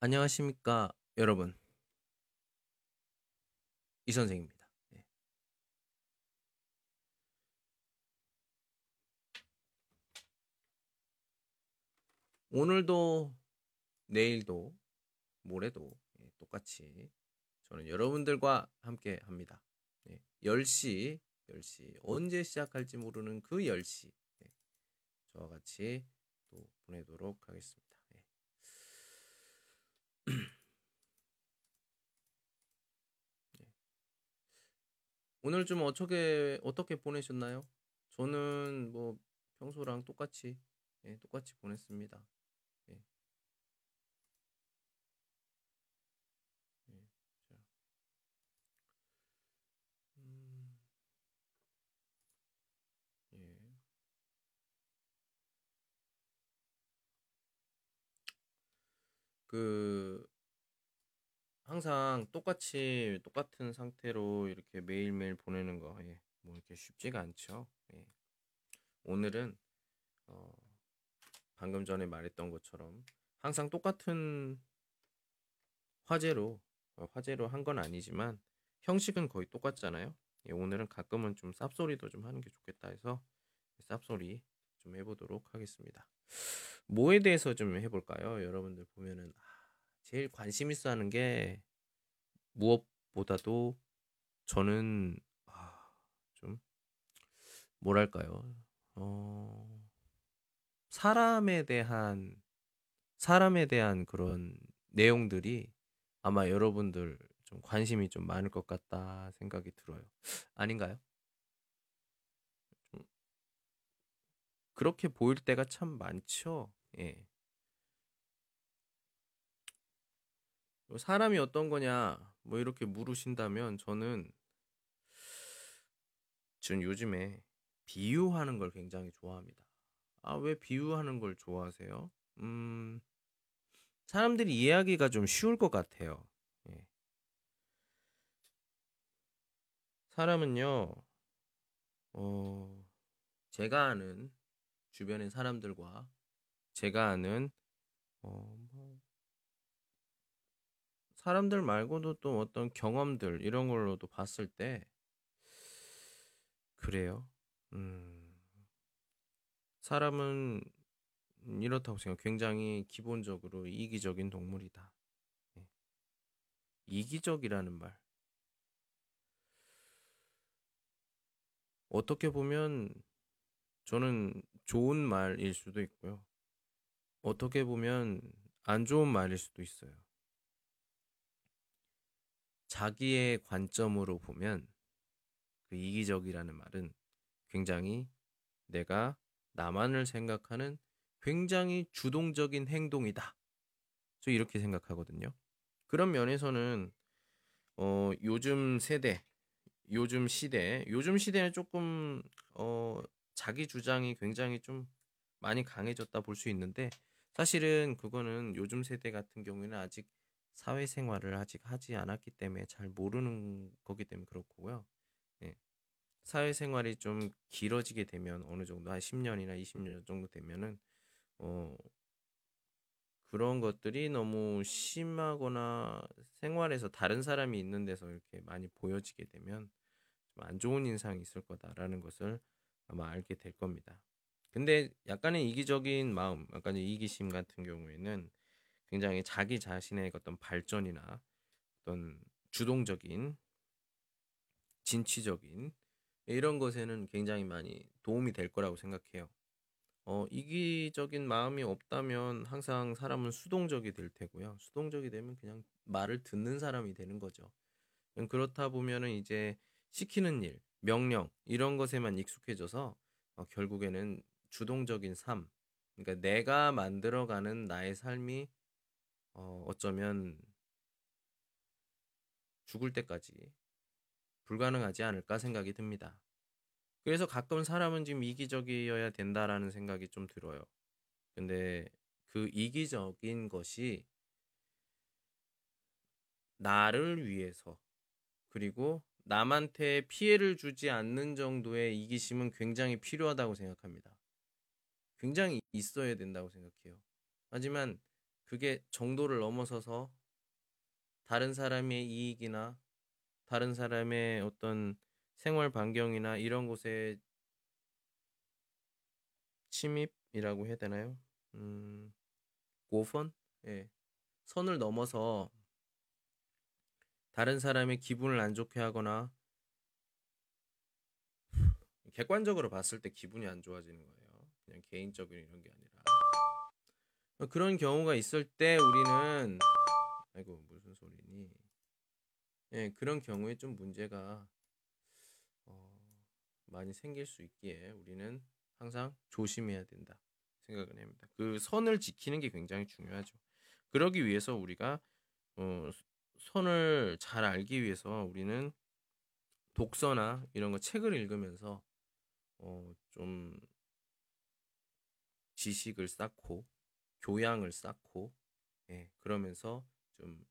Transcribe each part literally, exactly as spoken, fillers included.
안녕하십니까, 여러분. 이 선생입니다. 네. 오늘도, 내일도, 모레도 예, 똑같이 저는 여러분들과 함께 합니다. 네. 열 시, 열 시, 언제 시작할지 모르는 그 열 시. 네. 저와 같이 또 보내도록 하겠습니다. 네. 네. 오늘 좀 어떻게, 어떻게 보내셨나요? 저는 뭐 평소랑 똑같이, 예, 똑같이 보냈습니다. 예. 예. 자, 음, 예. 그 항상 똑같이 똑같은 상태로 이렇게 매일매일 보내는 거, 예, 뭐 이렇게 쉽지가 않죠. 예. 오늘은 어, 방금 전에 말했던 것처럼 항상 똑같은 화제로 어, 화제로 한 건 아니지만 형식은 거의 똑같잖아요. 예, 오늘은 가끔은 좀 쌉소리도 좀 하는 게 좋겠다 해서 쌉소리 좀 해보도록 하겠습니다. 뭐에 대해서 좀 해볼까요? 여러분들 보면은 아, 제일 관심 있어 하는 게 무엇보다도 저는 아, 좀 뭐랄까요? 어, 사람에 대한 사람에 대한 그런 내용들이 아마 여러분들 좀 관심이 좀 많을 것 같다 생각이 들어요. 아닌가요? 좀 그렇게 보일 때가 참 많죠. 예. 뭐 사람이 어떤 거냐, 뭐 이렇게 물으신다면 저는 전 요즘에 비유하는 걸 굉장히 좋아합니다. 아, 왜 비유하는 걸 좋아하세요? 음, 사람들이 이해하기가 좀 쉬울 것 같아요. 예. 사람은요, 어, 제가 아는 주변의 사람들과 제가 아는 어, 뭐 사람들 말고도 또 어떤 경험들 이런 걸로도 봤을 때 그래요. 음, 사람은 이렇다고 생각. 굉장히 기본적으로 이기적인 동물이다. 예. 이기적이라는 말. 어떻게 보면 저는 좋은 말일 수도 있고요. 어떻게 보면 안 좋은 말일 수도 있어요. 자기의 관점으로 보면 그 이기적이라는 말은 굉장히 내가 나만을 생각하는 굉장히 주동적인 행동이다. 저 이렇게 생각하거든요. 그런 면에서는 어, 요즘 세대, 요즘 시대, 요즘 시대는 조금 어, 자기 주장이 굉장히 좀 많이 강해졌다 볼 수 있는데 사실은 그거는 요즘 세대 같은 경우에는 아직 사회생활을 아직 하지 않았기 때문에 잘 모르는 거기 때문에 그렇고요. 예. 사회생활이 좀 길어지게 되면 어느 정도 한 십 년이나 이십 년 정도 되면은 어, 그런 것들이 너무 심하거나 생활에서 다른 사람이 있는 데서 이렇게 많이 보여지게 되면 좀 안 좋은 인상이 있을 거다라는 것을 아마 알게 될 겁니다. 근데 약간의 이기적인 마음, 약간의 이기심 같은 경우에는 굉장히 자기 자신의 어떤 발전이나 어떤 주동적인, 진취적인 이런 것에는 굉장히 많이 도움이 될 거라고 생각해요. 어, 이기적인 마음이 없다면 항상 사람은 수동적이 될 테고요. 수동적이 되면 그냥 말을 듣는 사람이 되는 거죠. 음, 그렇다 보면은 이제 시키는 일, 명령 이런 것에만 익숙해져서 어, 결국에는 주동적인 삶, 그러니까 내가 만들어가는 나의 삶이 어, 어쩌면 죽을 때까지 불가능하지 않을까 생각이 듭니다. 그래서 가끔 사람은 지금 이기적이어야 된다라는 생각이 좀 들어요. 근데 그 이기적인 것이 나를 위해서 그리고 남한테 피해를 주지 않는 정도의 이기심은 굉장히 필요하다고 생각합니다. 굉장히 있어야 된다고 생각해요. 하지만 그게 정도를 넘어서서 다른 사람의 이익이나 다른 사람의 어떤 생활 반경이나 이런 곳에 침입이라고 해야 되나요? 음, 고선? 예. 선을 넘어서 다른 사람의 기분을 안 좋게 하거나 객관적으로 봤을 때 기분이 안 좋아지는 거예요. 그냥 개인적인 이런 게 아니라. 그런 경우가 있을 때 우리는 아이고 무슨 소리니? 예, 그런 경우에 좀 문제가 어, 많이 생길 수 있기에 우리는 항상 조심해야 된다 생각을 합니다. 그 선을 지키는 게 굉장히 중요하죠. 그러기 위해서 우리가 어, 선을 잘 알기 위해서 우리는 독서나 이런 거 책을 읽으면서 어, 좀 지식을 쌓고 교양을 쌓고 예, 그러면서 좀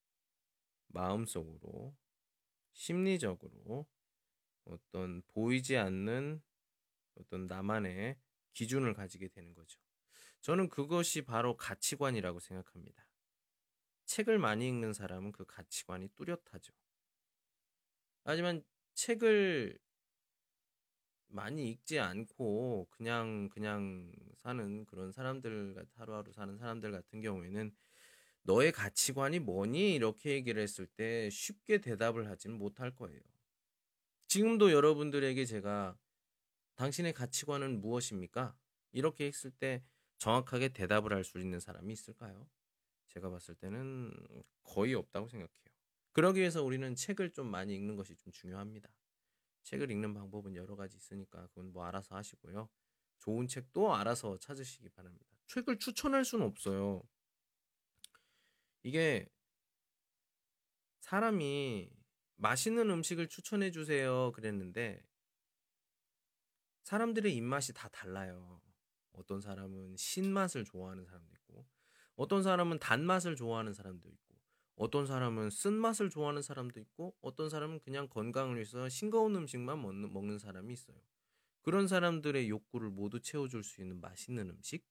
마음속으로 심리적으로 어떤 보이지 않는 어떤 나만의 기준을 가지게 되는 거죠. 저는 그것이 바로 가치관이라고 생각합니다. 책을 많이 읽는 사람은 그 가치관이 뚜렷하죠. 하지만 책을 많이 읽지 않고 그냥 그냥 사는 그런 사람들 같 하루하루 사는 사람들 같은 경우에는 "너의 가치관이 뭐니?" 이렇게 얘기를 했을 때 쉽게 대답을 하지는 못할 거예요. 지금도 여러분들에게 제가 "당신의 가치관은 무엇입니까?" 이렇게 했을 때 정확하게 대답을 할 수 있는 사람이 있을까요? 제가 봤을 때는 거의 없다고 생각해요. 그러기 위해서 우리는 책을 좀 많이 읽는 것이 좀 중요합니다. 책을 읽는 방법은 여러 가지 있으니까 그건 뭐 알아서 하시고요. 좋은 책도 알아서 찾으시기 바랍니다. 책을 추천할 수는 없어요. 이게 사람이 "맛있는 음식을 추천해 주세요." 그랬는데 사람들의 입맛이 다 달라요. 어떤 사람은 신맛을 좋아하는 사람도 있고 어떤 사람은 단맛을 좋아하는 사람도 있고 어떤 사람은 쓴맛을 좋아하는 사람도 있고 어떤 사람은 그냥 건강을 위해서 싱거운 음식만 먹는 먹는 사람이 있어요. 그런 사람들의 욕구를 모두 채워줄 수 있는 맛있는 음식?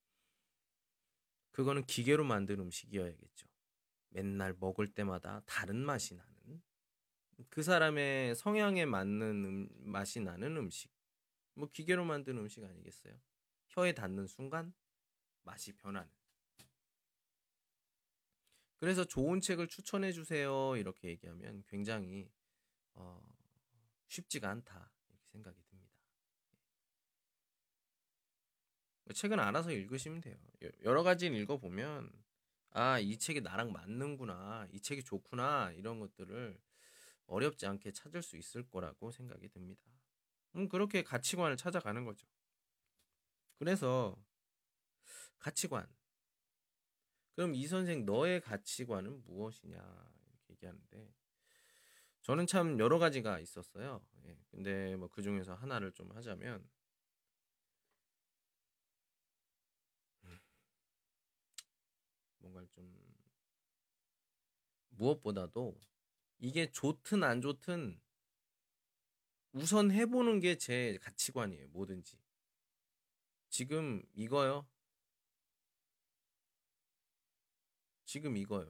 그거는 기계로 만든 음식이어야겠죠. 맨날 먹을 때마다 다른 맛이 나는 그 사람의 성향에 맞는 음, 맛이 나는 음식. 뭐 기계로 만든 음식 아니겠어요? 혀에 닿는 순간 맛이 변하는. 그래서 좋은 책을 추천해 주세요. 이렇게 얘기하면 굉장히 어, 쉽지가 않다. 이렇게 생각이 듭니다. 책은 알아서 읽으시면 돼요. 여- 여러 가지는 읽어보면 아, 이 책이 나랑 맞는구나. 이 책이 좋구나. 이런 것들을 어렵지 않게 찾을 수 있을 거라고 생각이 듭니다. 음, 그렇게 가치관을 찾아가는 거죠. 그래서 가치관. 그럼 이 선생 너의 가치관은 무엇이냐 이렇게 얘기하는데 저는 참 여러 가지가 있었어요. 예, 근데 뭐 그 중에서 하나를 좀 하자면 음, 뭔가 좀 무엇보다도 이게 좋든 안 좋든 우선 해보는 게 제 가치관이에요. 뭐든지. 지금 이거요. 지금 이거요.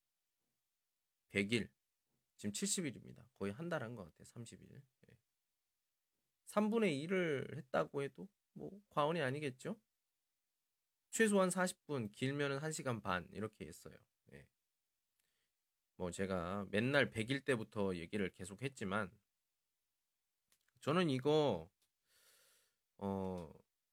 백 일. 지금 칠십 일입니다. 거의 한 달 한 것 같아요. 삼십 일. 예. 삼분의 일을 했다고 해도 뭐 과언이 아니겠죠? 최소한 사십 분, 길면은 한 시간 반 이렇게 했어요. 예. 뭐 제가 맨날 백 일 때부터 얘기를 계속 했지만 저는 이거 어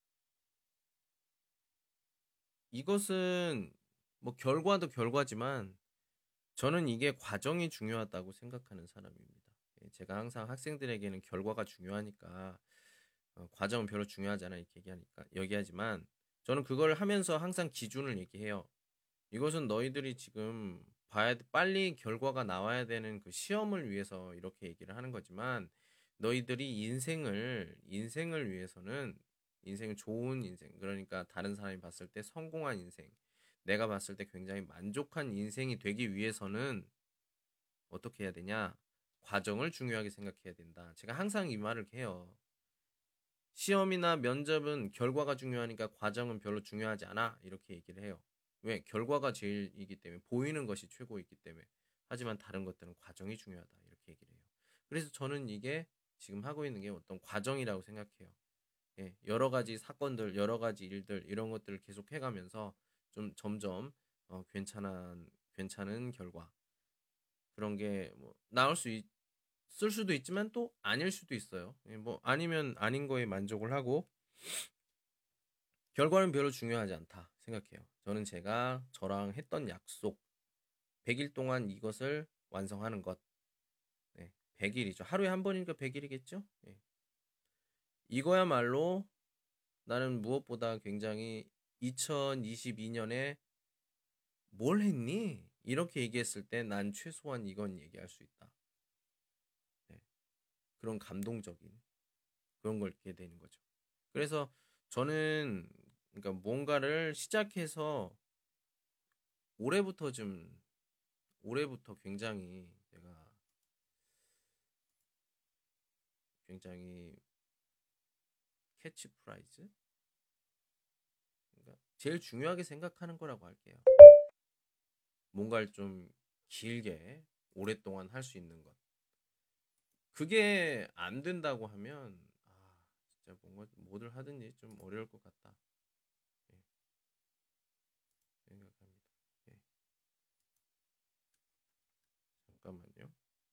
이것은 뭐 결과도 결과지만 저는 이게 과정이 중요하다고 생각하는 사람입니다. 예, 제가 항상 학생들에게는 결과가 중요하니까 어, 과정은 별로 중요하지 않아 이렇게 얘기하니까 얘기하지만 저는 그걸 하면서 항상 기준을 얘기해요. 이것은 너희들이 지금 봐야 빨리 결과가 나와야 되는 그 시험을 위해서 이렇게 얘기를 하는 거지만 너희들이 인생을 인생을 위해서는 인생은 좋은 인생 그러니까 다른 사람이 봤을 때 성공한 인생 내가 봤을 때 굉장히 만족한 인생이 되기 위해서는 어떻게 해야 되냐? 과정을 중요하게 생각해야 된다. 제가 항상 이 말을 해요. 시험이나 면접은 결과가 중요하니까 과정은 별로 중요하지 않아. 이렇게 얘기를 해요. 왜? 결과가 제일이기 때문에 보이는 것이 최고이기 때문에. 하지만 다른 것들은 과정이 중요하다. 이렇게 얘기를 해요. 그래서 저는 이게 지금 하고 있는 게 어떤 과정이라고 생각해요. 예, 여러 가지 사건들, 여러 가지 일들 이런 것들을 계속 해가면서 좀 점점 어, 괜찮은 괜찮은 결과 그런 게 뭐 나올 수 있을 수도 있지만 또 아닐 수도 있어요. 예, 뭐 아니면 아닌 거에 만족을 하고 결과는 별로 중요하지 않다 생각해요. 저는 제가 저랑 했던 약속 백 일 동안 이것을 완성하는 것. 네, 백 일이죠. 하루에 한 번이니까 백 일이겠죠? 예. 이거야말로 나는 무엇보다 굉장히 이천이십이 년에 뭘 했니? 이렇게 얘기했을 때 난 최소한 이건 얘기할 수 있다. 네, 그런 감동적인 그런 걸 읽게 되는 거죠. 그래서 저는 그러니까 뭔가를 시작해서 올해부터 좀 올해부터 굉장히 내가 굉장히 캐치프라이즈 그러니까 제일 중요하게 생각하는 거라고 할게요. 뭔가를 좀 길게 오랫동안 할 수 있는 것. 그게 안 된다고 하면 아 진짜 뭔가 뭐를 하든지 좀 어려울 것 같다. 예, 생각합니다. 예, 잠깐만요.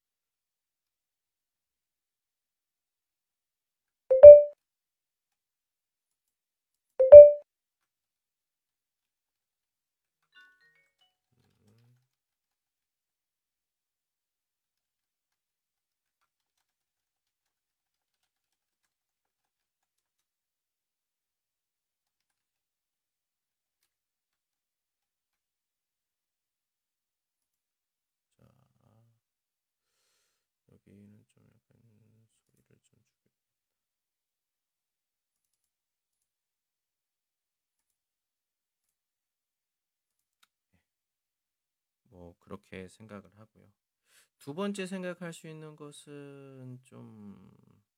음, 자 여기는 좀 약간 소리를 좀 줄여. 뭐 그렇게 생각을 하고요. 두 번째 생각할 수 있는 것은 좀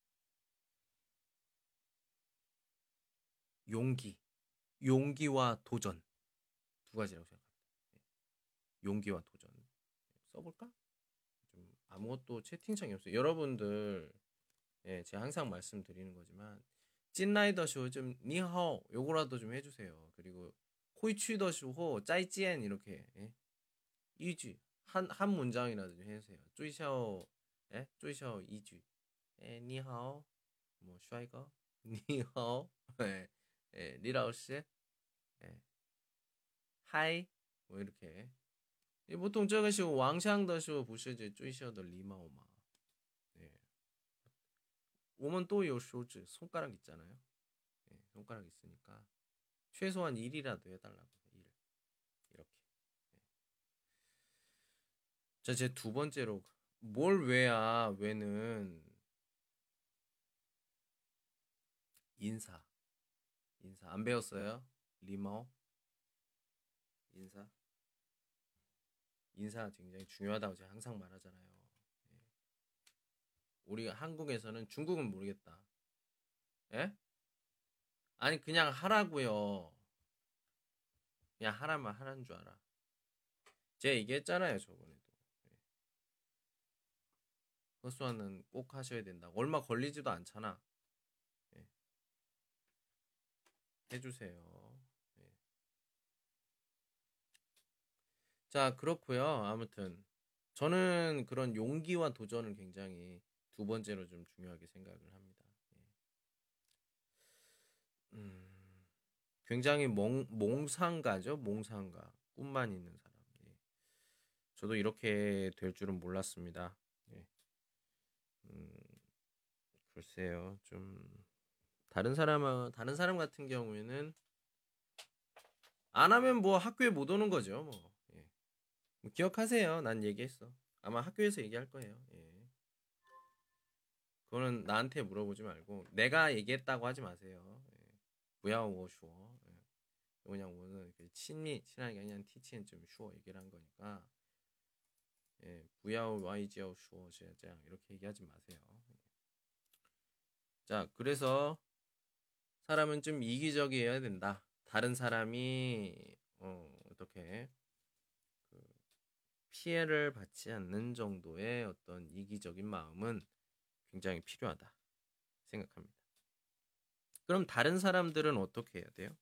용기, 용기와 도전 두 가지라고 생각합니다. 예, 용기와 도전 써볼까? 좀 아무것도 채팅창이 없어요. 여러분들, 예, 제가 항상 말씀드리는 거지만 찐라이더쇼 좀 니하오 요거라도 좀 해주세요. 그리고 호이취더쇼호 짜이찌엔 이렇게 예? 이쥐 한, 한 문장이라도 좀 해주세요. 쪼이샤오 예? 쪼이샤오 이쥐 예, 니하오 뭐 슈아이거 니하오 예, 예, 리라오씨 예, 하이 뭐 이렇게 예, 보통 저것이 왕샹더쇼 부셔지 쪼이샤더 리마오마 예. 오면 또 요 쇼즈 손가락 있잖아요. 예, 손가락 있으니까 최소한 일이라도 해달라고 일 이렇게. 예. 자, 제 두 번째로 뭘 왜야 왜는 인사 인사 안 배웠어요? 리머 인사 인사 굉장히 중요하다고 제가 항상 말하잖아요. 예. 우리 한국에서는 중국은 모르겠다. 예? 아니 그냥 하라고요. 그냥 하라면 하라는 줄 알아. 제가 얘기했잖아요 저번에도. 예. 허수아는 꼭 하셔야 된다. 얼마 걸리지도 않잖아. 예. 해주세요. 예. 자, 그렇고요. 아무튼 저는 그런 용기와 도전을 굉장히 두 번째로 좀 중요하게 생각을 합니다. 예. 음, 굉장히 몽, 몽상가죠. 몽상가. 꿈만 있는 사람. 예. 저도 이렇게 될 줄은 몰랐습니다. 예. 음, 글쎄요. 좀 다른 사람은 다른 사람 같은 경우에는 안 하면 뭐 학교에 못 오는 거죠. 뭐. 예. 뭐 기억하세요. 난 얘기했어. 아마 학교에서 얘기할 거예요. 예. 그거는 나한테 물어보지 말고 내가 얘기했다고 하지 마세요. 예. 不要我说. 예. 그냥 오늘 친히 친하게 그냥 티치엔 좀 쉬워 얘기를 한 거니까 예, 不要와이지어说这样 이렇게 얘기하지 마세요. 자, 그래서 사람은 좀 이기적이어야 된다. 다른 사람이 어, 어떻게 그 피해를 받지 않는 정도의 어떤 이기적인 마음은 굉장히 필요하다 생각합니다. 그럼 다른 사람들은 어떻게 해야 돼요?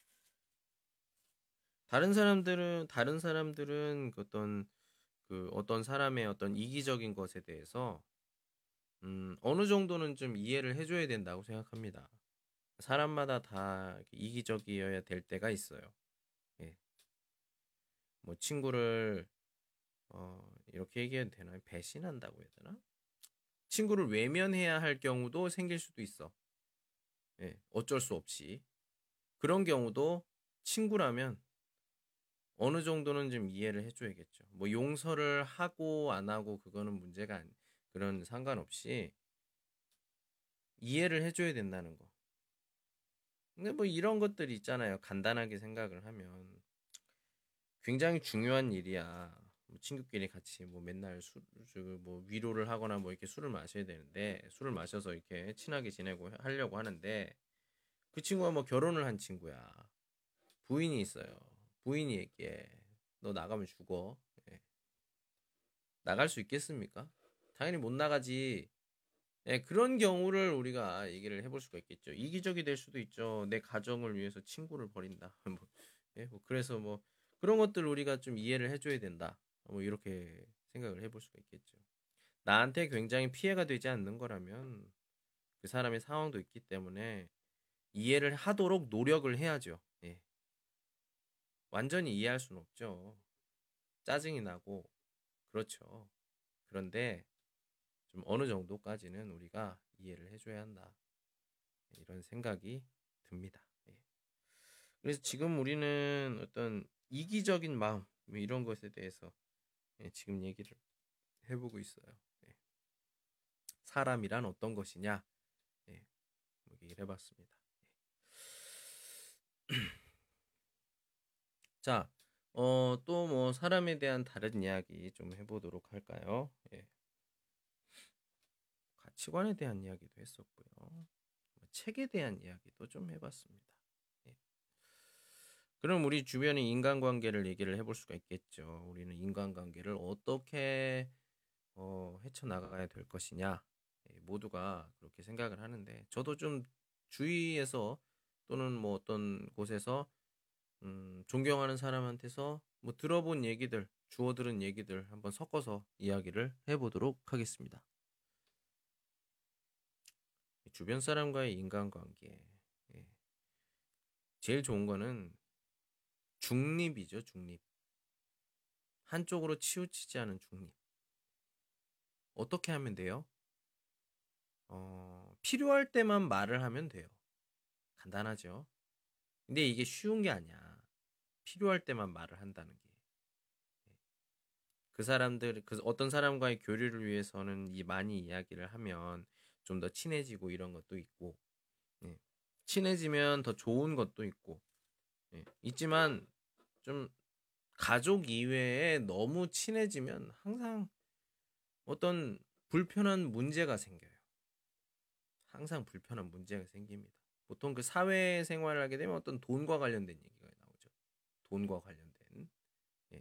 다른 사람들은 다른 사람들은 그 어떤 그 어떤 사람의 어떤 이기적인 것에 대해서 음 어느 정도는 좀 이해를 해 줘야 된다고 생각합니다. 사람마다 다 이렇게 이기적이어야 될 때가 있어요. 예. 뭐 친구를 어 이렇게 얘기해도 되나요? 배신한다고 해야 되나? 친구를 외면해야 할 경우도 생길 수도 있어. 예. 어쩔 수 없이. 그런 경우도 친구라면 어느 정도는 좀 이해를 해 줘야겠죠. 뭐 용서를 하고 안 하고 그거는 문제가 아니 그런 상관없이 이해를 해 줘야 된다는 거. 근데 뭐 이런 것들이 있잖아요. 간단하게 생각을 하면 굉장히 중요한 일이야. 뭐 친구끼리 같이 뭐 맨날 술, 뭐 위로를 하거나 뭐 이렇게 술을 마셔야 되는데 술을 마셔서 이렇게 친하게 지내고 하려고 하는데 그 친구가 뭐 결혼을 한 친구야. 부인이 있어요. 부인이 얘기해. 너 나가면 죽어. 예. 나갈 수 있겠습니까? 당연히 못 나가지. 예, 그런 경우를 우리가 얘기를 해볼 수가 있겠죠. 이기적이 될 수도 있죠. 내 가정을 위해서 친구를 버린다. 뭐, 예, 뭐 그래서 뭐 그런 것들 우리가 좀 이해를 해줘야 된다. 뭐 이렇게 생각을 해볼 수가 있겠죠. 나한테 굉장히 피해가 되지 않는 거라면 그 사람의 상황도 있기 때문에 이해를 하도록 노력을 해야죠. 예. 완전히 이해할 수는 없죠. 짜증이 나고 그렇죠. 그런데 좀 어느 정도까지는 우리가 이해를 해줘야 한다. 이런 생각이 듭니다. 예. 그래서 지금 우리는 어떤 이기적인 마음 뭐 이런 것에 대해서 예, 지금 얘기를 해보고 있어요. 예. 사람이란 어떤 것이냐 예, 뭐 얘기를 해봤습니다. 예. 자, 어, 또 뭐 사람에 대한 다른 이야기 좀 해보도록 할까요? 예. 가치관에 대한 이야기도 했었고요. 뭐 책에 대한 이야기도 좀 해봤습니다. 예. 그럼 우리 주변의 인간관계를 얘기를 해볼 수가 있겠죠. 우리는 인간관계를 어떻게 어, 헤쳐나가야 될 것이냐. 예, 모두가 그렇게 생각을 하는데 저도 좀 주위에서 또는 뭐 어떤 곳에서 음, 존경하는 사람한테서 뭐 들어본 얘기들, 주워 들은 얘기들 한번 섞어서 이야기를 해보도록 하겠습니다. 주변 사람과의 인간관계. 예. 제일 좋은 거는 중립이죠, 중립. 한쪽으로 치우치지 않은 중립. 어떻게 하면 돼요? 어, 필요할 때만 말을 하면 돼요. 간단하죠. 근데 이게 쉬운 게 아니야. 필요할 때만 말을 한다는 게. 그 사람들, 그 어떤 사람과의 교류를 위해서는 이 많이 이야기를 하면 좀 더 친해지고 이런 것도 있고, 예. 친해지면 더 좋은 것도 있고, 예. 있지만 좀 가족 이외에 너무 친해지면 항상 어떤 불편한 문제가 생겨요. 항상 불편한 문제가 생깁니다. 보통 그 사회생활을 하게 되면 어떤 돈과 관련된 얘기가 나오죠. 돈과 관련된. 예.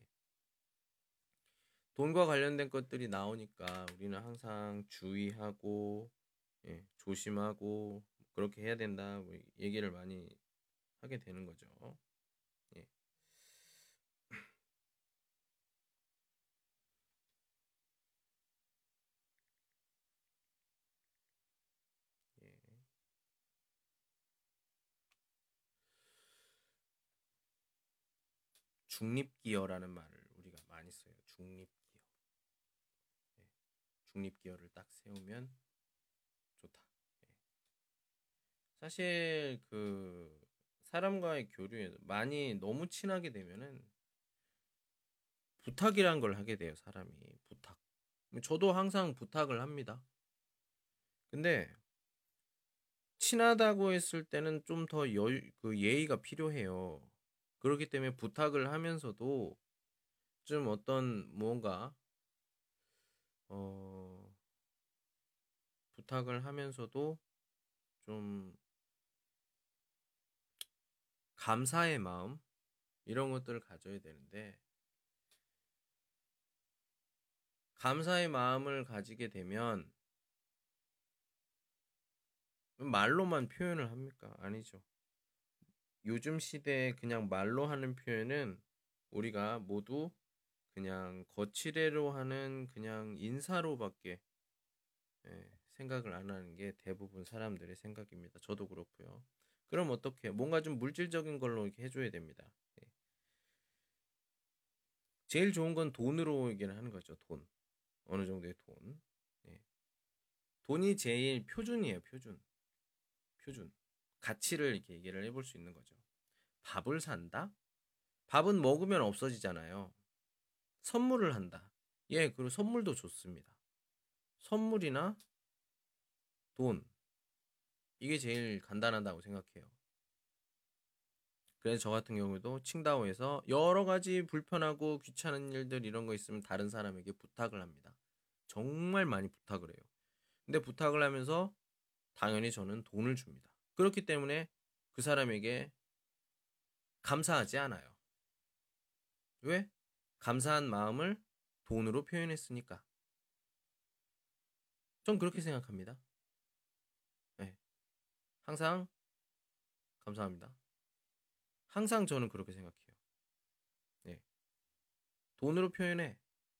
돈과 관련된 것들이 나오니까 우리는 항상 주의하고 예, 조심하고 그렇게 해야 된다. 뭐 얘기를 많이 하게 되는 거죠. 예. 예. 중립기여라는 말을 우리가 많이 써요. 중립기여. 예. 중립기여를 딱 세우면 좋다. 예. 사실 그 사람과의 교류에 많이 너무 친하게 되면은 부탁이란 걸 하게 돼요, 사람이. 부탁. 저도 항상 부탁을 합니다. 근데 친하다고 했을 때는 좀 더 여유, 그 예의가 필요해요. 그렇기 때문에 부탁을 하면서도 좀 어떤 뭔가 어, 부탁을 하면서도 좀 감사의 마음, 이런 것들을 가져야 되는데 감사의 마음을 가지게 되면 말로만 표현을 합니까? 아니죠. 요즘 시대에 그냥 말로 하는 표현은 우리가 모두 그냥 거치대로 하는 그냥 인사로밖에 예, 생각을 안 하는 게 대부분 사람들의 생각입니다. 저도 그렇고요. 그럼 어떻게? 뭔가 좀 물질적인 걸로 이렇게 해줘야 됩니다. 예. 제일 좋은 건 돈으로 얘기를 하는 거죠. 돈. 어느 정도의 돈. 예. 돈이 제일 표준이에요. 표준. 표준. 가치를 이렇게 얘기를 해볼 수 있는 거죠. 밥을 산다? 밥은 먹으면 없어지잖아요. 선물을 한다. 예, 그리고 선물도 좋습니다. 선물이나 돈. 이게 제일 간단하다고 생각해요. 그래서 저 같은 경우도 칭다오에서 여러 가지 불편하고 귀찮은 일들 이런 거 있으면 다른 사람에게 부탁을 합니다. 정말 많이 부탁을 해요. 근데 부탁을 하면서 당연히 저는 돈을 줍니다. 그렇기 때문에 그 사람에게 감사하지 않아요. 왜? 감사한 마음을 돈으로 표현했으니까. 전 그렇게 생각합니다. 네. 항상 감사합니다. 항상 저는 그렇게 생각해요. 네. 돈으로 표현해.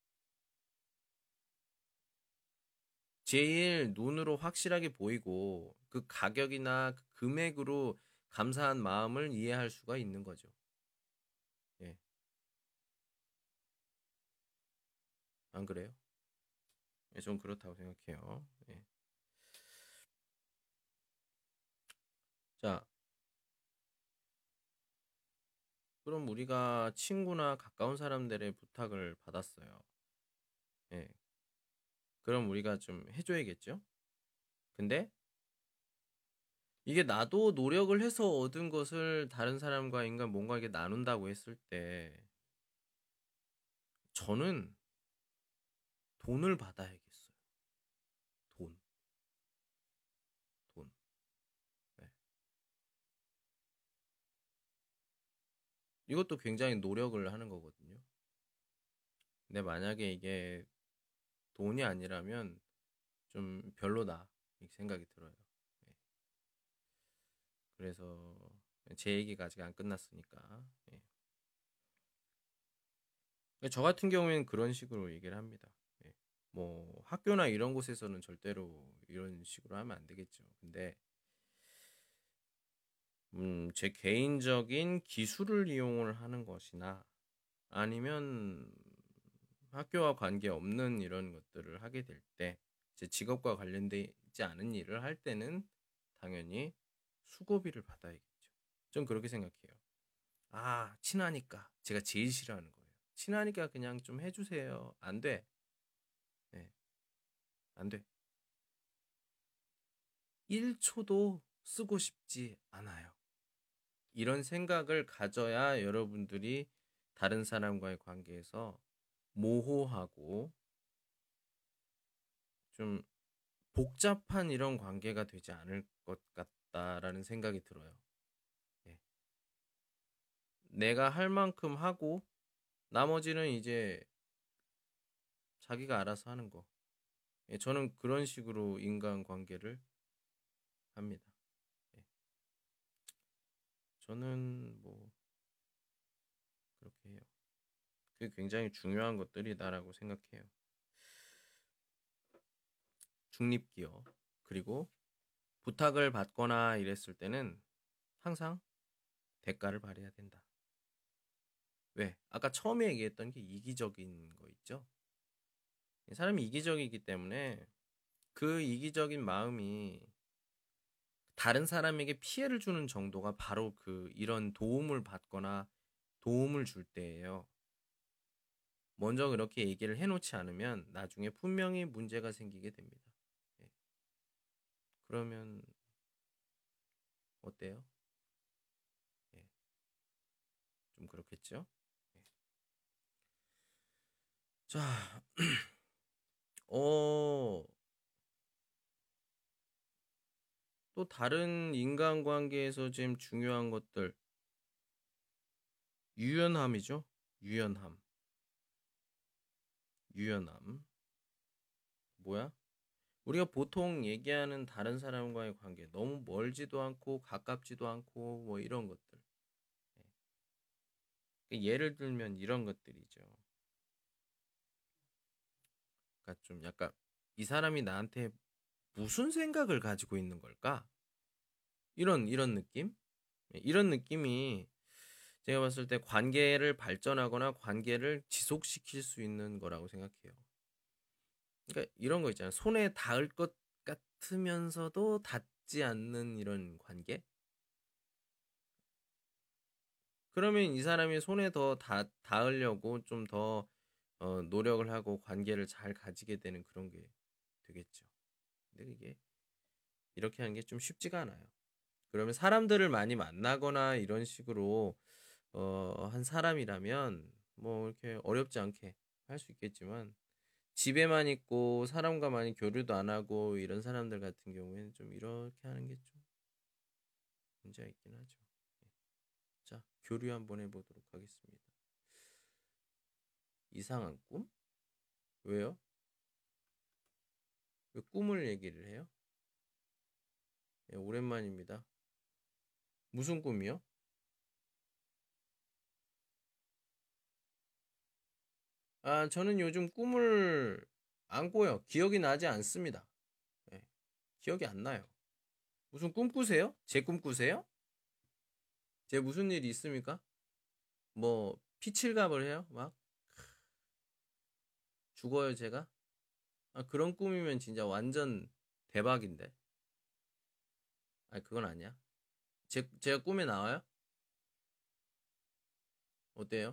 제일 눈으로 확실하게 보이고 그 가격이나 그 금액으로 감사한 마음을 이해할 수가 있는 거죠. 예. 안 그래요? 예, 전 그렇다고 생각해요. 예. 자, 그럼 우리가 친구나 가까운 사람들의 부탁을 받았어요. 예. 그럼 우리가 좀 해줘야겠죠? 근데 이게 나도 노력을 해서 얻은 것을 다른 사람과 인간 뭔가 이게 나눈다고 했을 때 저는 돈을 받아야겠어요. 돈, 돈. 네. 이것도 굉장히 노력을 하는 거거든요. 근데 만약에 이게 돈이 아니라면 좀 별로다 이 생각이 들어요. 네. 그래서 제 얘기가 아직 안 끝났으니까. 네. 저 같은 경우에는 그런 식으로 얘기를 합니다. 네. 뭐 학교나 이런 곳에서는 절대로 이런 식으로 하면 안 되겠죠. 근데 음, 제 개인적인 기술을 이용을 하는 것이나 아니면 학교와 관계없는 이런 것들을 하게 될 때, 제 직업과 관련되지 않은 일을 할 때는 당연히 수고비를 받아야겠죠. 전 그렇게 생각해요. 아, 친하니까. 제가 제일 싫어하는 거예요. 친하니까 그냥 좀 해주세요. 안 돼. 네, 안 돼. 일 초도 쓰고 싶지 않아요. 이런 생각을 가져야 여러분들이 다른 사람과의 관계에서 모호하고 좀 복잡한 이런 관계가 되지 않을 것 같다라는 생각이 들어요. 예. 내가 할 만큼 하고 나머지는 이제 자기가 알아서 하는 거. 예, 저는 그런 식으로 인간 관계를 합니다. 예. 저는 뭐 그렇게 해요. 그게 굉장히 중요한 것들이다라고 생각해요. 중립기업. 그리고 부탁을 받거나 이랬을 때는 항상 대가를 발해야 된다. 왜? 아까 처음에 얘기했던 게 이기적인 거 있죠? 사람이 이기적이기 때문에 그 이기적인 마음이 다른 사람에게 피해를 주는 정도가 바로 그 이런 도움을 받거나 도움을 줄 때예요. 먼저 그렇게 얘기를 해놓지 않으면 나중에 분명히 문제가 생기게 됩니다. 예. 그러면 어때요? 예. 좀 그렇겠죠? 예. 자, 어, 또 다른 인간관계에서 지금 중요한 것들 유연함이죠. 유연함. 유연함. 뭐야? 우리가 보통 얘기하는 다른 사람과의 관계, 너무 멀지도 않고 가깝지도 않고 뭐 이런 것들. 예. 예를 들면 이런 것들이죠. 그러니까 좀 약간 이 사람이 나한테 무슨 생각을 가지고 있는 걸까? 이런 이런 느낌? 예, 이런 느낌이 제가 봤을 때 관계를 발전하거나 관계를 지속시킬 수 있는 거라고 생각해요. 그러니까 이런 거 있잖아요. 손에 닿을 것 같으면서도 닿지 않는 이런 관계? 그러면 이 사람이 손에 더 닿, 닿으려고 좀 더 어, 노력을 하고 관계를 잘 가지게 되는 그런 게 되겠죠. 근데 이게 이렇게 하는 게 좀 쉽지가 않아요. 그러면 사람들을 많이 만나거나 이런 식으로 어, 한 사람이라면 뭐 이렇게 어렵지 않게 할 수 있겠지만 집에만 있고 사람과 많이 교류도 안 하고 이런 사람들 같은 경우에는 좀 이렇게 하는 게 좀 문제가 있긴 하죠. 예. 자, 교류 한번 해보도록 하겠습니다. 이상한 꿈? 왜요? 왜 꿈을 얘기를 해요? 예, 오랜만입니다. 무슨 꿈이요? 아, 저는 요즘 꿈을 안 꿔요. 기억이 나지 않습니다. 예, 기억이 안 나요. 무슨 꿈 꾸세요? 제 꿈 꾸세요? 제 무슨 일이 있습니까? 뭐 피칠갑을 해요? 막 죽어요 제가? 아, 그런 꿈이면 진짜 완전 대박인데. 아, 그건 아니야. 제 제가 꿈에 나와요? 어때요?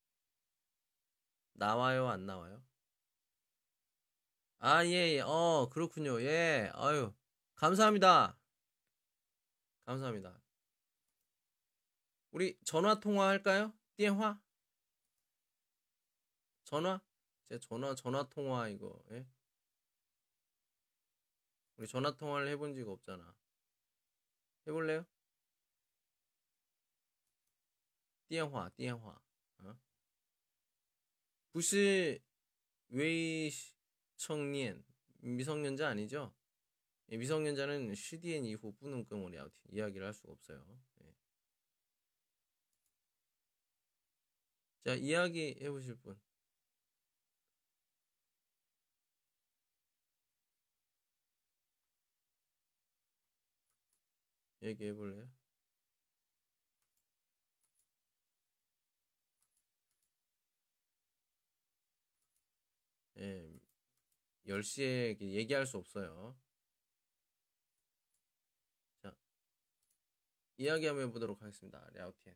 나와요, 안 나와요? 아, 예, 예. 어, 그렇군요. 예. 아유, 감사합니다. 감사합니다. 우리 전화 통화 할까요? 电话? 전화? 제 전화 전화 통화 이거. 예? 우리 전화 통화를 해본 적 없잖아. 해볼래요? 电话,电话. 어? 不是未成年 미성년자 아니죠? 예, 미성년자는 시디엔 이후 뿌는 끔을 이야기를 할 수가 없어요. 예. 자, 이야기 해보실 분. 얘기해볼래요? 예, 열 시에 얘기할 수 없어요. 자, 이야기 한번 해보도록 하겠습니다. 랴오티엔.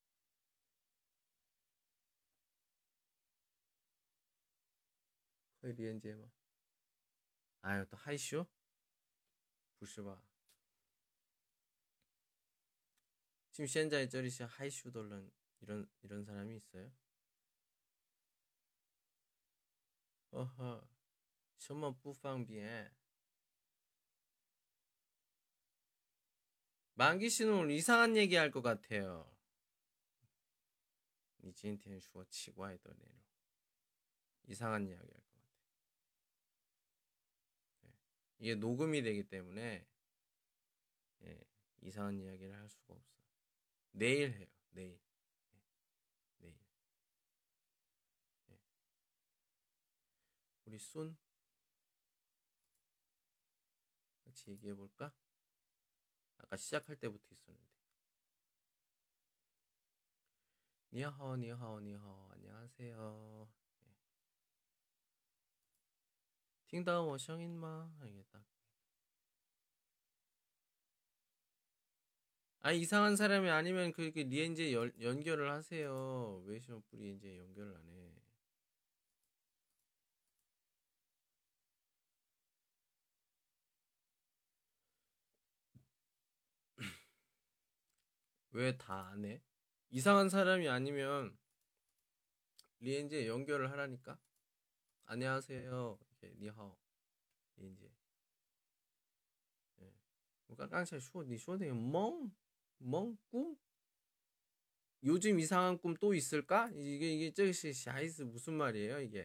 可以连接吗? 아유, 또 하이쇼? 不是吧? 지금 현재 저리시 하이쇼 돌런 이런 이런 사람이 있어요? 어허, 什么不方便? 만기 씨는 오늘 이상한 얘기 할 것 같아요. 你今天说奇怪的内容. 이상한 이야기 할 것 같아. 네. 이게 녹음이 되기 때문에 예, 이상한 이야기를 할 수가 없어. 내일 해요. 내일. 네, 내일. 예. 우리 순 같이 얘기해 볼까? 아까 시작할 때부터 있었는데. 니하오, 니하오, 니하오. 안녕하세요. 예. 听到我声音吗? 이게 딱. 아, 이상한 사람이 아니면 그, 그 리엔제 연, 연결을 하세요. 왜 시험 리엔제 연결을 안 해? 왜 다 안 해? 이상한 사람이 아니면 리엔제 연결을 하라니까? 안녕하세요. 이렇게 니하오. 리엔제. 예. 我刚刚才说你说的梦梦꿈 요즘 이상한 꿈 또 있을까? 이게 이게 저시 샤이스 무슨 말이에요, 이게?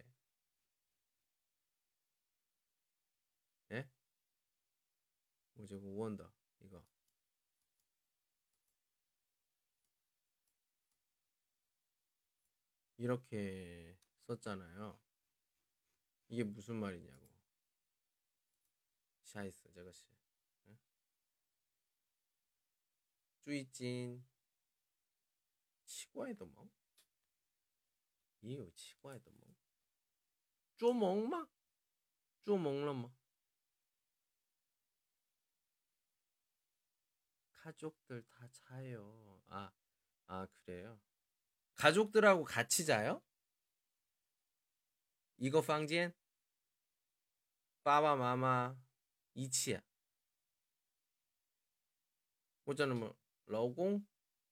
예? 뭐지? 원더 이거 이렇게 썼잖아요. 이게 무슨 말이냐고. 샤이스 저것이. 예? 最近 奇怪的梦 也有奇怪的梦做梦吗做梦了吗 가족들 다 자요. 아, 아, 그래요? 가족들하고 같이 자요? 이거 방진? 빠바 마마 이치야. 뭐잖아 뭐, 老公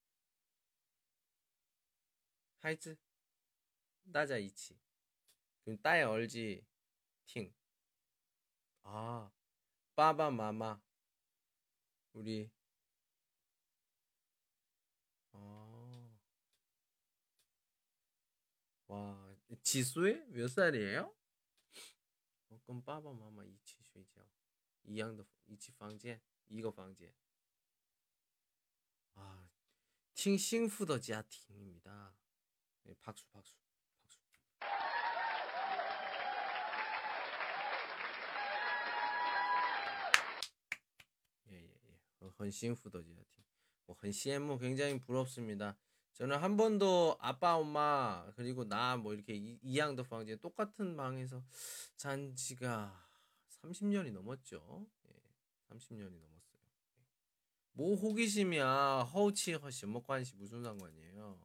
孩子 따자 이치. 그럼 따에 얼지 팅. 아, 빠바 마마 우리 아, 와, 지수에 몇 살이에요? 어, 그럼 빠바 마마 이치 睡觉一样的一起房间 이거 房间 아, 挺幸福的家庭입니다. 네, 박수, 박수, 박수. 예, 예, 예. 어, 很幸福的家庭. 뭐, 很羡慕, 굉장히 부럽습니다. 저는 한 번도 아빠, 엄마, 그리고 나, 뭐, 이렇게 이, 이양도 방제 똑같은 방에서 잔 지가 삼십 년이 넘었죠. 예, 삼십 년이 넘었어요. 뭐 호기심이야. 허우치 허시 뭐 관시 무슨 상관이에요.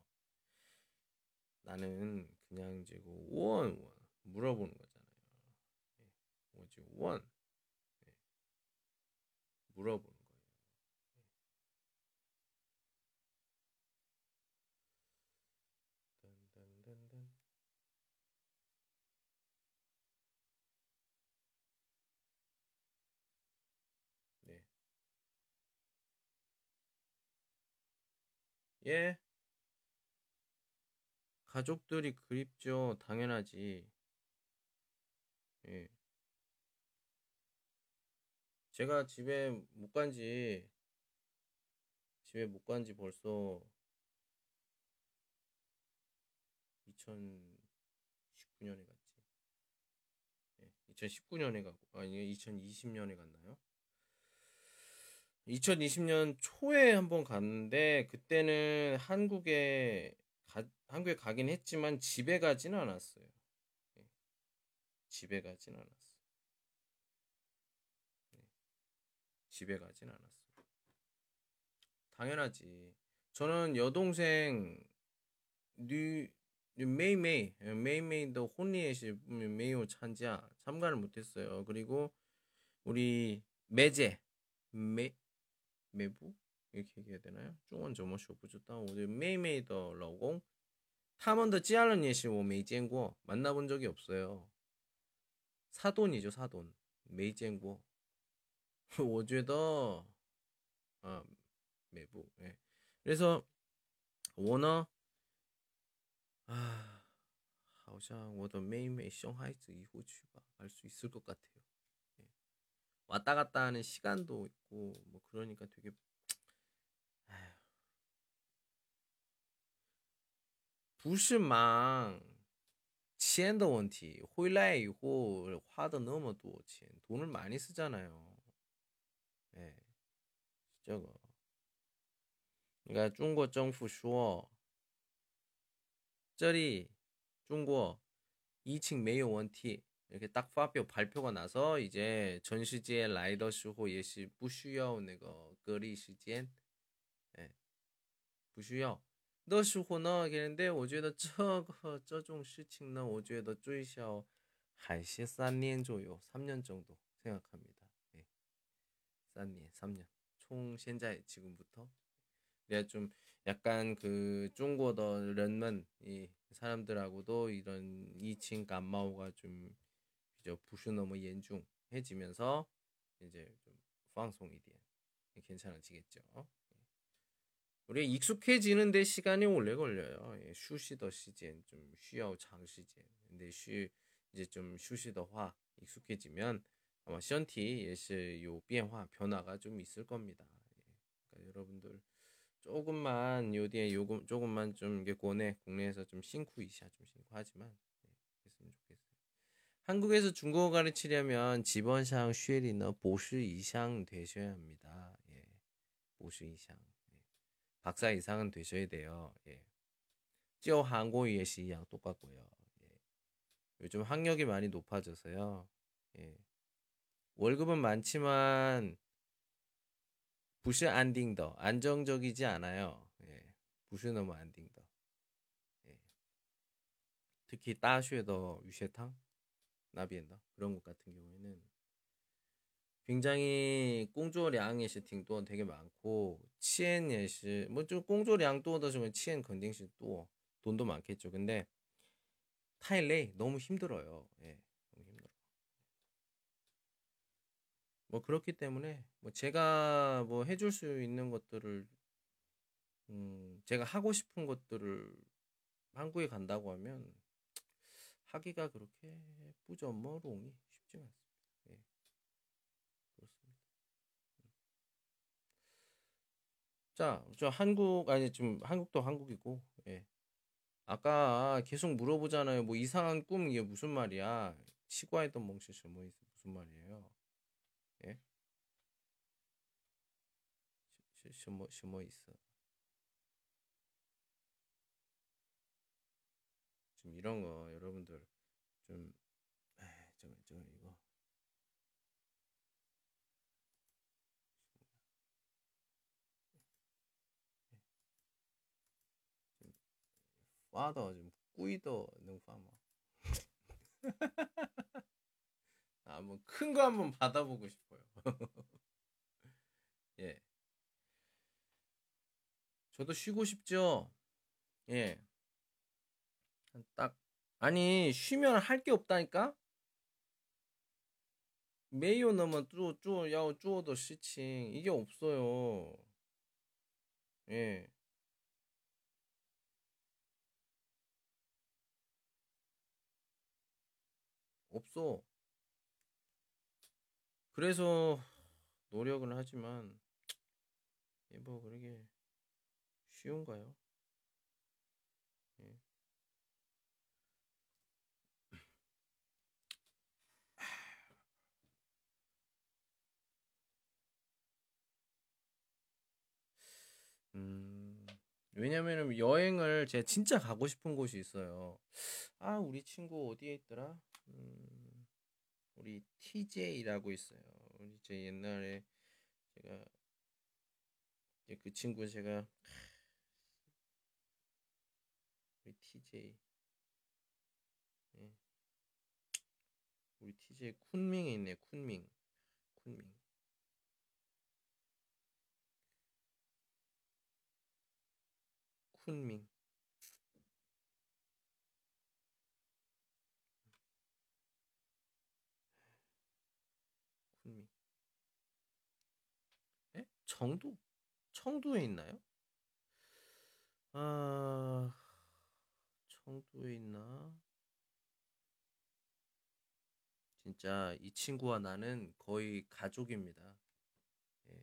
나는 그냥 이제 원, 원 물어보는 거잖아요. 예, 뭐지 원 예, 물어보는 거예요. 딴딴딴딴. 네. 예. 가족들이 그립죠. 당연하지. 예. 제가 집에 못 간지 집에 못 간지 벌써 이천십구 년에 갔지. 예. 이천십구 년에 가고 아니 이천이십 년에 갔나요? 이천이십 년 초에 한번 갔는데 그때는 한국에 가, 한국에 가긴 했지만 집에 가진 않았어요. 예, 집에 가진 않았어. 예, 집에 가진 않았어. 당연하지. 저는 여동생 뉴 메이메이 메이메이도 혼리에시 메이오 찬지야 참가를 못했어요. 그리고 우리 매제 매 매부 이렇게 얘기해야 되나요? 중원 점어쇼 부주다 오늘 메이메이더 러공 他们的家人也是我没见过 만나본 적이 없어요. 사돈이죠 사돈. 没见过. 我觉得 아, 매부. 예. 그래서 我呢 아, 好像我的妹妹生孩子以后去吧갈 수 있을 것 같아요. 예. 왔다 갔다 하는 시간도 있고 뭐 그러니까 되게 不是忙钱的问题回来以后花的那么多钱 돈을 많이 쓰잖아요. 예. 这个 그러니까 중국 政府说 这里 중국 疫情没有问题 이렇게 딱发表 발표가 나서 이제 전世界来的时候也是不需要那个隔离时间 예. 不需要的时候呢 그런데 我觉得这个这种事情呢我觉得最少还是三年左右 삼 년 정도 생각합니다. 예. 3년 삼 년 총 현재 지금부터 내가 좀 약간 그 중국어人们 이 사람들하고도 이런 이칭 감마오가 좀 비교 부수 너무严重해지면서 이제 좀 방송이 돼 괜찮아지겠죠. 우리 익숙해지는데 시간이 오래 걸려요. 예, 슈시더 시즌 좀 쉬어 장 시즌. 근데 쉬 이제 좀 슈시더화 익숙해지면 아마 션티 예시 요 변화 변화가 좀 있을 겁니다. 예. 그러니까 여러분들 조금만 요디에 요금 조금만 좀 이게 국내 국내에서 좀辛苦 이샤 좀辛苦하지만 예, 했으면 좋겠어요. 한국에서 중국어 가르치려면 지번상 쉐리너 보시 이상 되셔야 합니다. 예. 보시 이상. 예. 박사 이상은 되셔야 돼요. 예. 찌어 한국어 예시 이양 똑같고요. 예. 요즘 학력이 많이 높아져서요. 예. 월급은 많지만 부시 안딩더 안정적이지 않아요. 예. 부시 너무 안딩더. 예. 특히 따쉐더 유쉐탕 나비엔더 그런 것 같은 경우에는 굉장히 공조량의 팅도 되게 많고 치엔예시 뭐좀 공조량多的时候 치엔肯定是 또 돈도 많겠죠. 근데 타일레이 너무 힘들어요. 예. 너무 힘들어. 뭐 그렇기 때문에 뭐 제가 뭐 해줄 수 있는 것들을 음 제가 하고 싶은 것들을 한국에 간다고 하면 하기가 그렇게 뿌저머롱이 쉽지가 않습니다. 예. 그렇습니다. 자, 저 한국 아니 지금 한국도 한국이고 예. 아까 계속 물어보잖아요. 뭐 이상한 꿈 이게 무슨 말이야? 치과했던 멍치시 뭐 있- 무슨 말이에요? 예? 시- 시- 뭐, 시- 뭐 있어? 지금 이런 거 여러분들 좀 에이, 저, 저 이거 지금 파더 지금 꾸이더 능파마 아, 한번 큰 거 한번 받아보고 싶어요. 예, 저도 쉬고 싶죠. 예, 딱 아니 쉬면 할 게 없다니까. 메이오 넘어 쪼쪼 야오 쪼더 시칭 이게 없어요. 예, 없어. 그래서 노력은 하지만 예, 뭐 그러게 쉬운가요? 예. 음, 왜냐면은 여행을 제가 진짜 가고 싶은 곳이 있어요. 아, 우리 친구 어디에 있더라? 음, 우리 티제이라고 있어요. 우리 제 옛날에 제가 이제 그 친구 제가 우리 티제이 예. 우리 티제이 쿤밍에 있네. 쿤밍. 쿤밍. 쿤밍. 쿤밍. 예? 정도? 청도에 있나요? 아, 청도에 있나? 진짜 이 친구와 나는 거의 가족입니다. 예.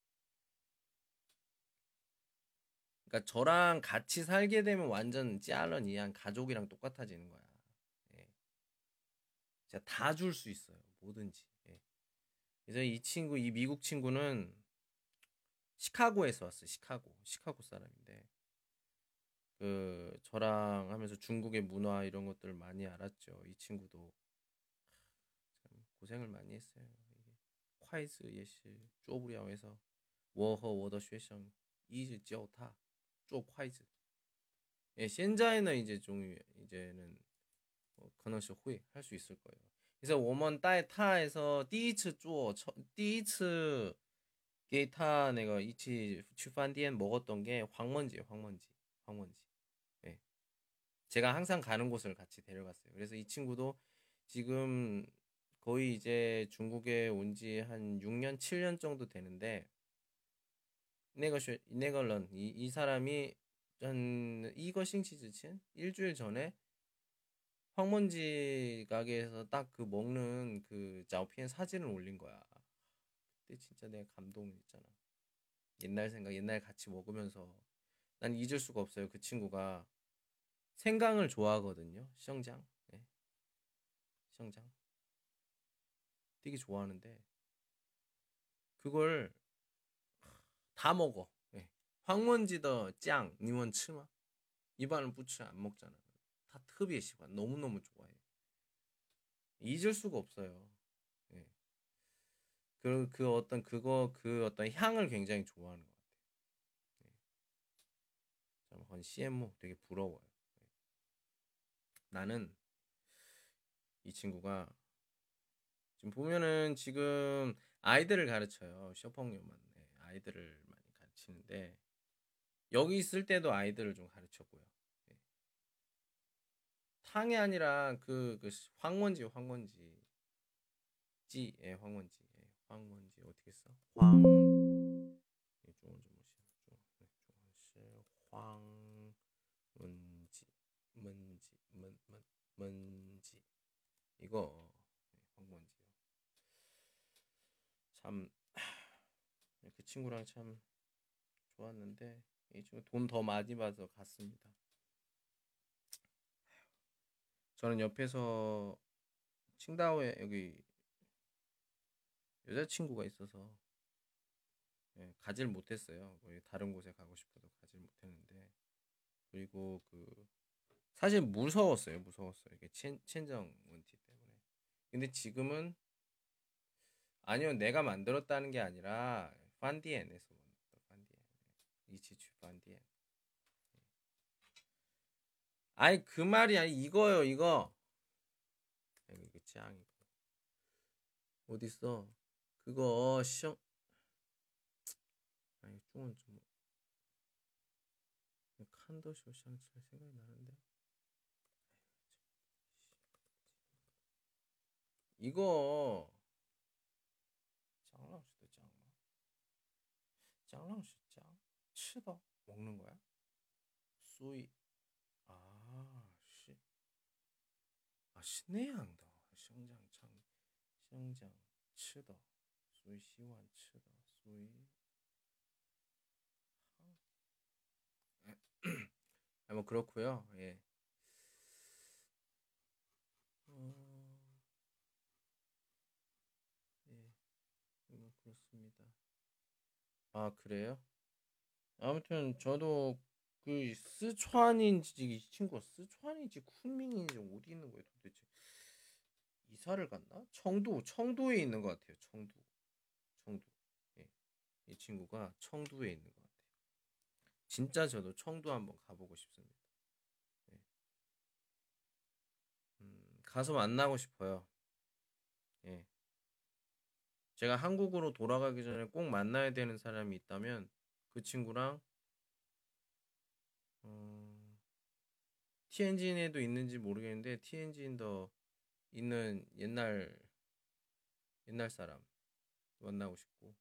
그러니까 저랑 같이 살게 되면 완전 찌알런 이한 가족이랑 똑같아지는 거야. 예. 제가 다 줄 수 있어요. 뭐든지. 예. 그래서 이 친구, 이 미국 친구는 시카고에서 왔어요. 시카고. 시카고 사람인데. 그 저랑 하면서 중국의 문화 이런 것들 많이 알았죠. 이 친구도 참 고생을 많이 했어요. 이게 콰이즈 예시 쪼부리아에서 워허 워더 쉐성 이즈 지오타 쪼 콰이즈. 예, 현재는 이제 좀 이제는 뭐可能是 会할 수 있을 거예요. 그래서 我们带他에서 第一次坐第一次 给他 내가 이치 취판디엔 먹었던 게 황먼지예요. 황먼지. 황먼지. 예. 제가 항상 가는 곳을 같이 데려갔어요. 그래서 이 친구도 지금 거의 이제 중국에 온 지 한 육 년, 칠 년 정도 되는데 네거시 네걸런 이, 이 사람이 한 이거 싱치즈친 일주일 전에 황문지 가게에서 딱 그 먹는 그 짜오피엔 사진을 올린 거야. 그때 진짜 내가 감동했잖아. 옛날 생각, 옛날 같이 먹으면서 난 잊을 수가 없어요. 그 친구가 생강을 좋아하거든요. 시정장, 네, 시정장 되게 좋아하는데 그걸 다 먹어. 네. 황문지더 짱, 니원 치마 입안을 부츠 안 먹잖아. 다 특别喜欢 너무너무 좋아해. 잊을 수가 없어요. 예. 그, 그 어떤 그거 그 어떤 향을 굉장히 좋아하는 것 같아요. 예. 참, 건 씨엠오 되게 부러워요. 예. 나는 이 친구가 지금 보면은 지금 아이들을 가르쳐요. 셔펑요만 예. 아이들을 많이 가르치는데 여기 있을 때도 아이들을 좀 가르쳤고요. 예. 탕이 아니라 그, 그 황원지 황원지 지, 예, 황원지, 예, 황원지 어떻게 써? 황, 이 중원 좀 보시죠. 네, 중원시 황문지, 문지, 문, 문, 문지 이거 네, 황원지요. 참, 그 친구랑 참 좋았는데 이 친구 돈 더 많이 받아서 갔습니다. 저는 옆에서 칭다오에 여기 여자친구가 있어서 예, 가질 못했어요. 다른 곳에 가고 싶어도 가질 못했는데 그리고 그 사실 무서웠어요. 무서웠어요. 이게 첸, 첸정 원티 때문에. 근데 지금은 아니요. 내가 만들었다는 게 아니라 판디엔에서 만들었다. 판디엔. 이치추 판디엔. 아니 그 말이 아니 이거요. 이거. 이거 이거 짱 이거. 어딨어? 그거 시험 아니 중원 좀 칸도 쇼샹칠 생각이 나는데. 이거 짱랑수도 짱마. 짱랑수 짱. 치더 먹는 거야? 소이. 아, 씨. 아, 신내양더 성장창 성장 치더 소위 시완 치더 소위 아, 뭐 그렇고요. 예. 어, 예. 뭐 그렇습니다. 아, 그래요? 아무튼 저도 그 스촨인지 이 친구가 스촨인지 쿤밍인지 어디 있는 거예요, 도대체? 이사를 갔나? 청도, 청도에 있는 것 같아요. 청도, 청도. 예. 이 친구가 청도에 있는 것 같아요. 진짜 저도 청도 한번 가보고 싶습니다. 예. 음, 가서 만나고 싶어요. 예. 제가 한국으로 돌아가기 전에 꼭 만나야 되는 사람이 있다면 그 친구랑 어, 티엔진에도 있는지 모르겠는데 티엔진더 있는 옛날 옛날 사람 만나고 싶고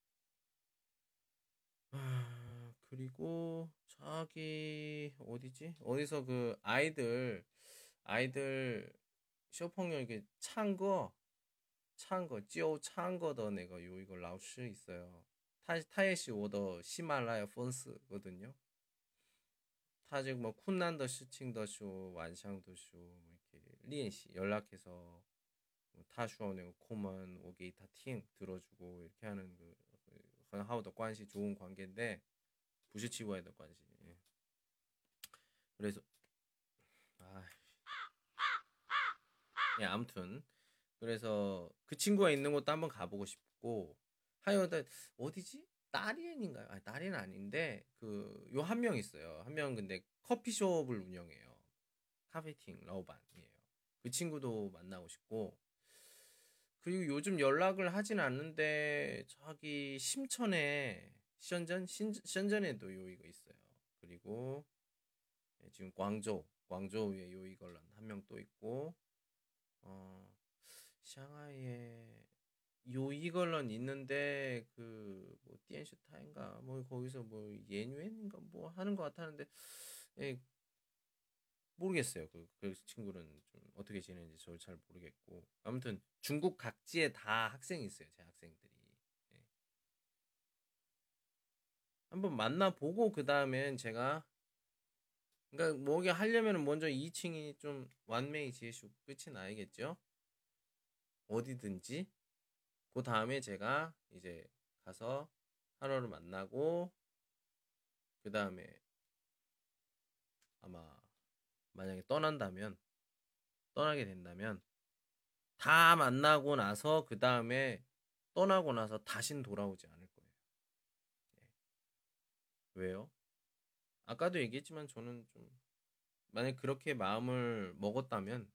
아, 그리고 저기 어디지? 어디서 그 아이들 아이들 쇼펑요 이게 찬거 찬거 찌오 찬거的 내가 요 이거 라오스 있어요. 타 타예시 오더 히말라야 폰스거든요. 타직 뭐 쿤난더 시칭더 쇼 완샹더 쇼뭐 이렇게 리엔시 연락해서 뭐 타슈어네 코먼 오게 다팅 들어주고 이렇게 하는 그 하우더 관시 좋은 관계인데 부시치고야의 관시. 예. 그래서 아, 예, 아무튼 그래서 그 친구가 있는 곳도 한번 가보고 싶고 하여튼 어디지? 나리엔인가요? 아, 나리엔 아닌데 그 요 한 명 있어요. 한 명 근데 커피숍을 운영해요. 카페팅 라오반이에요. 그 친구도 만나고 싶고 그리고 요즘 연락을 하진 않는데 저기 심천에 시전전 시전전에도 요 이거 있어요. 그리고 예, 지금 광저우 광저우에 요 이걸런 한 명 또 있고 어 샹하이에 요 이걸런 있는데 그뭐 띠엔슈타인가 뭐 거기서 뭐 예뉴엔인가 뭐 하는 것 같았는데 예, 모르겠어요. 그, 그 친구는 좀 어떻게 지내는지 저 잘 모르겠고 아무튼 중국 각지에 다 학생이 있어요. 제 학생들이. 예. 한번 만나보고 그 다음엔 제가 그러니까 뭐게 하려면 먼저 이 층이 좀 완메이 지으시고 끝이 나야겠죠. 어디든지 그 다음에 제가 이제 가서 하루를 만나고 그 다음에 아마 만약에 떠난다면 떠나게 된다면 다 만나고 나서 그 다음에 떠나고 나서 다신 돌아오지 않을 거예요. 예. 왜요? 아까도 얘기했지만 저는 좀 만약 그렇게 마음을 먹었다면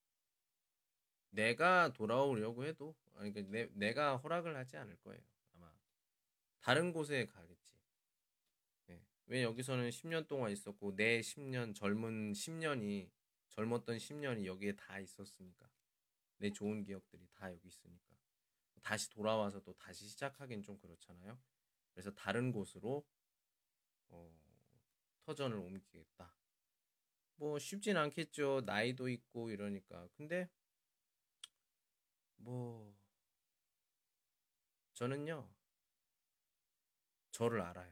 내가 돌아오려고 해도 아니 그 내, 내가 허락을 하지 않을 거예요. 아마 다른 곳에 가겠지. 예. 왜 여기서는 십 년 동안 있었고 내 십 년 젊은 십 년이 젊었던 십 년이 여기에 다 있었으니까 내 좋은 기억들이 다 여기 있으니까 다시 돌아와서 또 다시 시작하긴 좀 그렇잖아요. 그래서 다른 곳으로 어, 터전을 옮기겠다. 뭐 쉽진 않겠죠. 나이도 있고 이러니까. 근데 뭐 저는요 저를 알아요.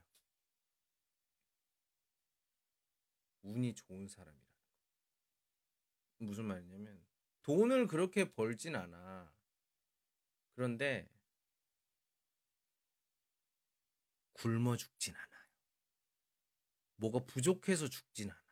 운이 좋은 사람이라는 거. 무슨 말이냐면 돈을 그렇게 벌진 않아. 그런데 굶어 죽진 않아요. 뭐가 부족해서 죽진 않아.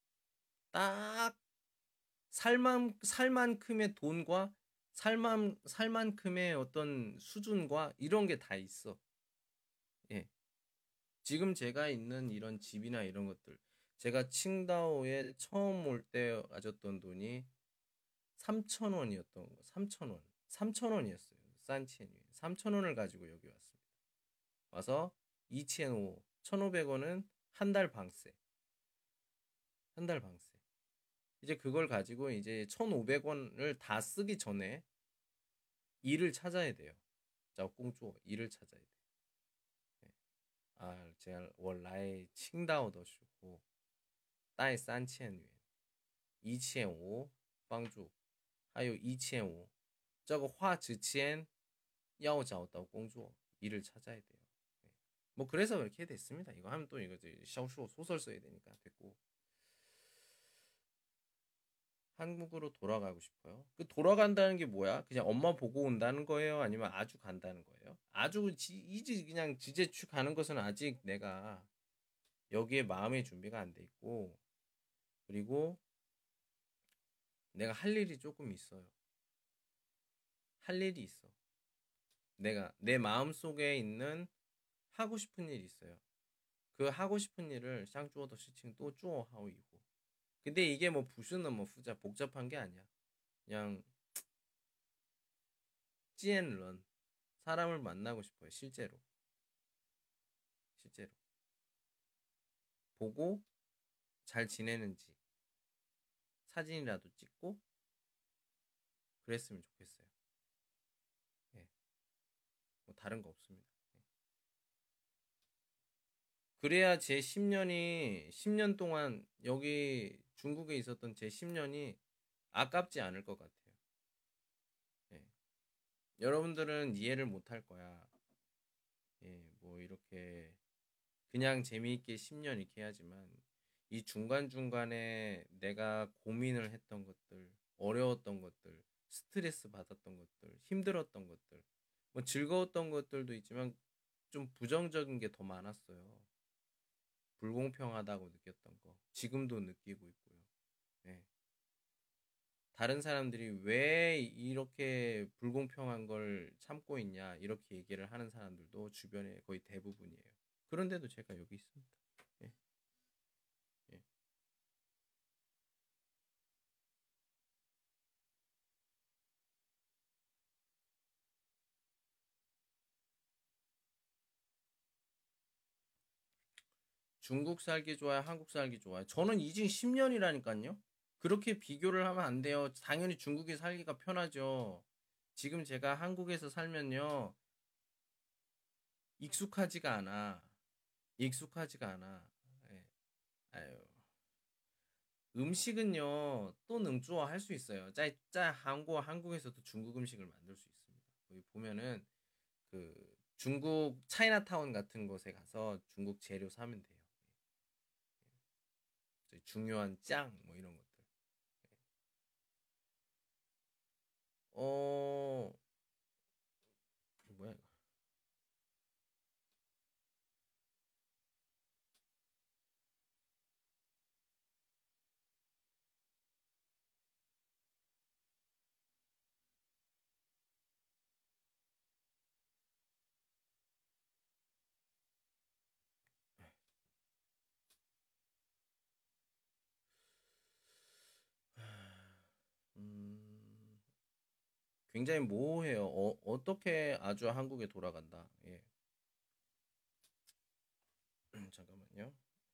딱 살만 살만큼의 돈과 살만 살만큼의 어떤 수준과 이런 게 다 있어. 예. 지금 제가 있는 이런 집이나 이런 것들 제가 칭다오에 처음 올 때 가졌던 돈이 삼천 원이었던 거. 삼천 원. 삼천 원이었어요. 산치엔이. 삼천 원을 가지고 여기 왔습니다. 와서 이치엔오 천오백 원은 한 달 방세. 한 달 방세. 이제 그걸 가지고 이제 천오백 원을 다 쓰기 전에 일을 찾아야 돼요. 자, 꽁쭈 일을 찾아야 돼. 네. 아, 제가 원래 칭다오 더 슈고 따이 산치엔 이치엔오 방주 하요 이치엔오 저거 화之前 要找到 工作 일을 찾아야 돼요. 네. 뭐 그래서 그렇게 됐습니다. 이거 하면 또 이거 샤오슈 소설 써야 되니까 됐고 한국으로 돌아가고 싶어요. 그 돌아간다는 게 뭐야? 그냥 엄마 보고 온다는 거예요? 아니면 아주 간다는 거예요? 아주 지, 이제 그냥 지제추 가는 것은 아직 내가 여기에 마음의 준비가 안 돼 있고 그리고 내가 할 일이 조금 있어요. 할 일이 있어. 내가 내 마음 속에 있는 하고 싶은 일이 있어요. 그 하고 싶은 일을 샹쭈어더 시칭 또 쭈어 하고 있고. 근데 이게 뭐 부수는 뭐 후자 복잡한 게 아니야. 그냥 찌앤런 사람을 만나고 싶어요. 실제로. 실제로. 보고 잘 지내는지 사진이라도 찍고 그랬으면 좋겠어요. 예. 뭐 다른 거 없습니다. 예. 그래야 제 십 년이 십 년 동안 여기 중국에 있었던 제 십 년이 아깝지 않을 것 같아요. 예. 여러분들은 이해를 못 할 거야. 예, 뭐 이렇게 그냥 재미있게 십 년 이렇게 해야지만 이 중간중간에 내가 고민을 했던 것들, 어려웠던 것들, 스트레스 받았던 것들, 힘들었던 것들, 뭐 즐거웠던 것들도 있지만 좀 부정적인 게 더 많았어요. 불공평하다고 느꼈던 거. 지금도 느끼고 있고요. 예. 다른 사람들이 왜 이렇게 불공평한 걸 참고 있냐, 이렇게 얘기를 하는 사람들도 주변에 거의 대부분이에요. 그런데도 제가 여기 있습니다. 예. 예. 중국 살기 좋아요? 한국 살기 좋아요? 저는 이직 십 년이라니까요. 그렇게 비교를 하면 안 돼요. 당연히 중국에 살기가 편하죠. 지금 제가 한국에서 살면요. 익숙하지가 않아. 익숙하지가 않아. 예. 아유. 음식은요. 또 능주어 할 수 있어요. 짜, 짜 한국 한국에서도 중국 음식을 만들 수 있습니다. 거기 보면은 그 중국 차이나타운 같은 곳에 가서 중국 재료 사면 돼요. 예. 중요한 짱 뭐 이런 것들. 어 뭐야 이거. 음, 굉장히 모호해요. 어, 어떻게 아주 한국에 돌아간다. 예. 잠깐만요.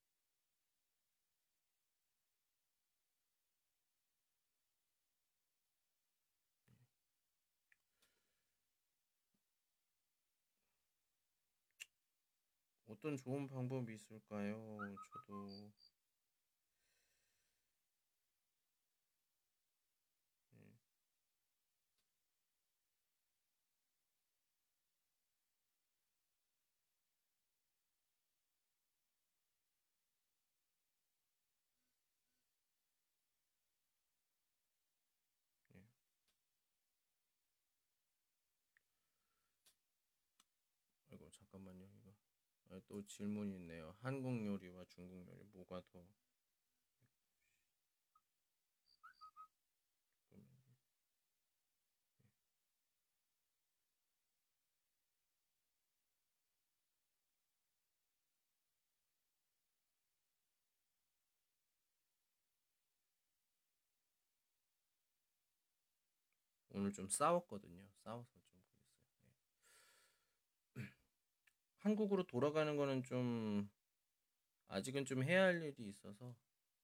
어떤 좋은 방법이 있을까요? 저도 예, 예. 아이고 잠깐만요. 이거 아, 또 질문이 있네요. 한국 요리와 중국 요리 뭐가 더 오늘 좀 싸웠거든요. 싸워서 좀 그랬어요. 예. 한국으로 돌아가는 거는 좀 아직은 좀 해야 할 일이 있어서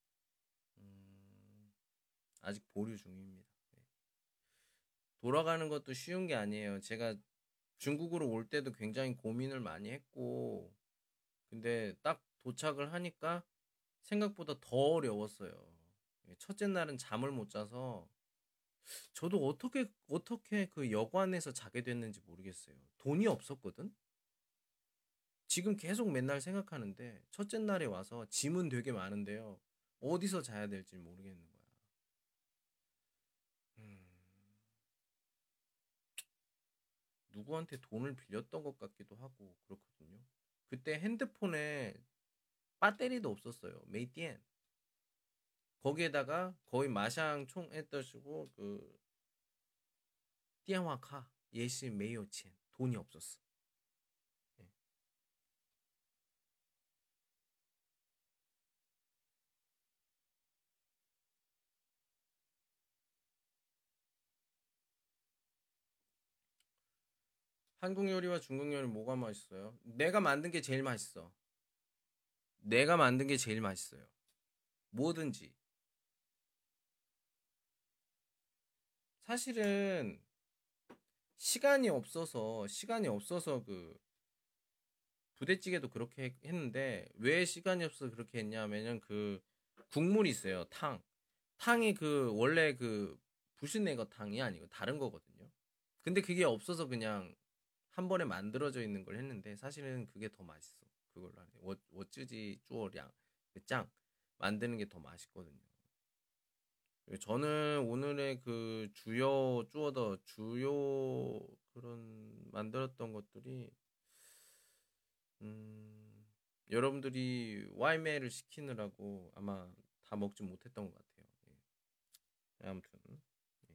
음, 아직 보류 중입니다. 예. 돌아가는 것도 쉬운 게 아니에요. 제가 중국으로 올 때도 굉장히 고민을 많이 했고, 근데 딱 도착을 하니까 생각보다 더 어려웠어요. 예, 첫째 날은 잠을 못 자서 저도 어떻게 어떻게 그 여관에서 자게 됐는지 모르겠어요. 돈이 없었거든. 지금 계속 맨날 생각하는데 첫째 날에 와서 짐은 되게 많은데요. 어디서 자야 될지 모르겠는 거야. 음, 누구한테 돈을 빌렸던 것 같기도 하고 그렇거든요. 그때 핸드폰에 배터리도 없었어요. 메이티엔. 거기에다가 거의 마샹 총 했더시고 그 띠아화카 예시 메이오첸 돈이 없었어. 예. 한국 요리와 중국 요리 뭐가 맛있어요? 내가 만든 게 제일 맛있어. 내가 만든 게 제일 맛있어요. 뭐든지. 사실은 시간이 없어서 시간이 없어서 그 부대찌개도 그렇게 했- 했는데 왜 시간이 없어서 그렇게 했냐면은 그 국물이 있어요. 탕. 탕이 그 원래 그 불신내거 탕이 아니고 다른 거거든요. 근데 그게 없어서 그냥 한 번에 만들어져 있는 걸 했는데 사실은 그게 더 맛있어. 그걸로 하는 워 워쯔지 쭈어량 그짱 만드는 게 더 맛있거든요. 그리고 저는 오늘의 그 주요 쭈어더 주요 그런 만들었던 것들이 음, 여러분들이 와이메를 시키느라고 아마 다 먹지 못했던 것 같아요. 예. 아무튼 예.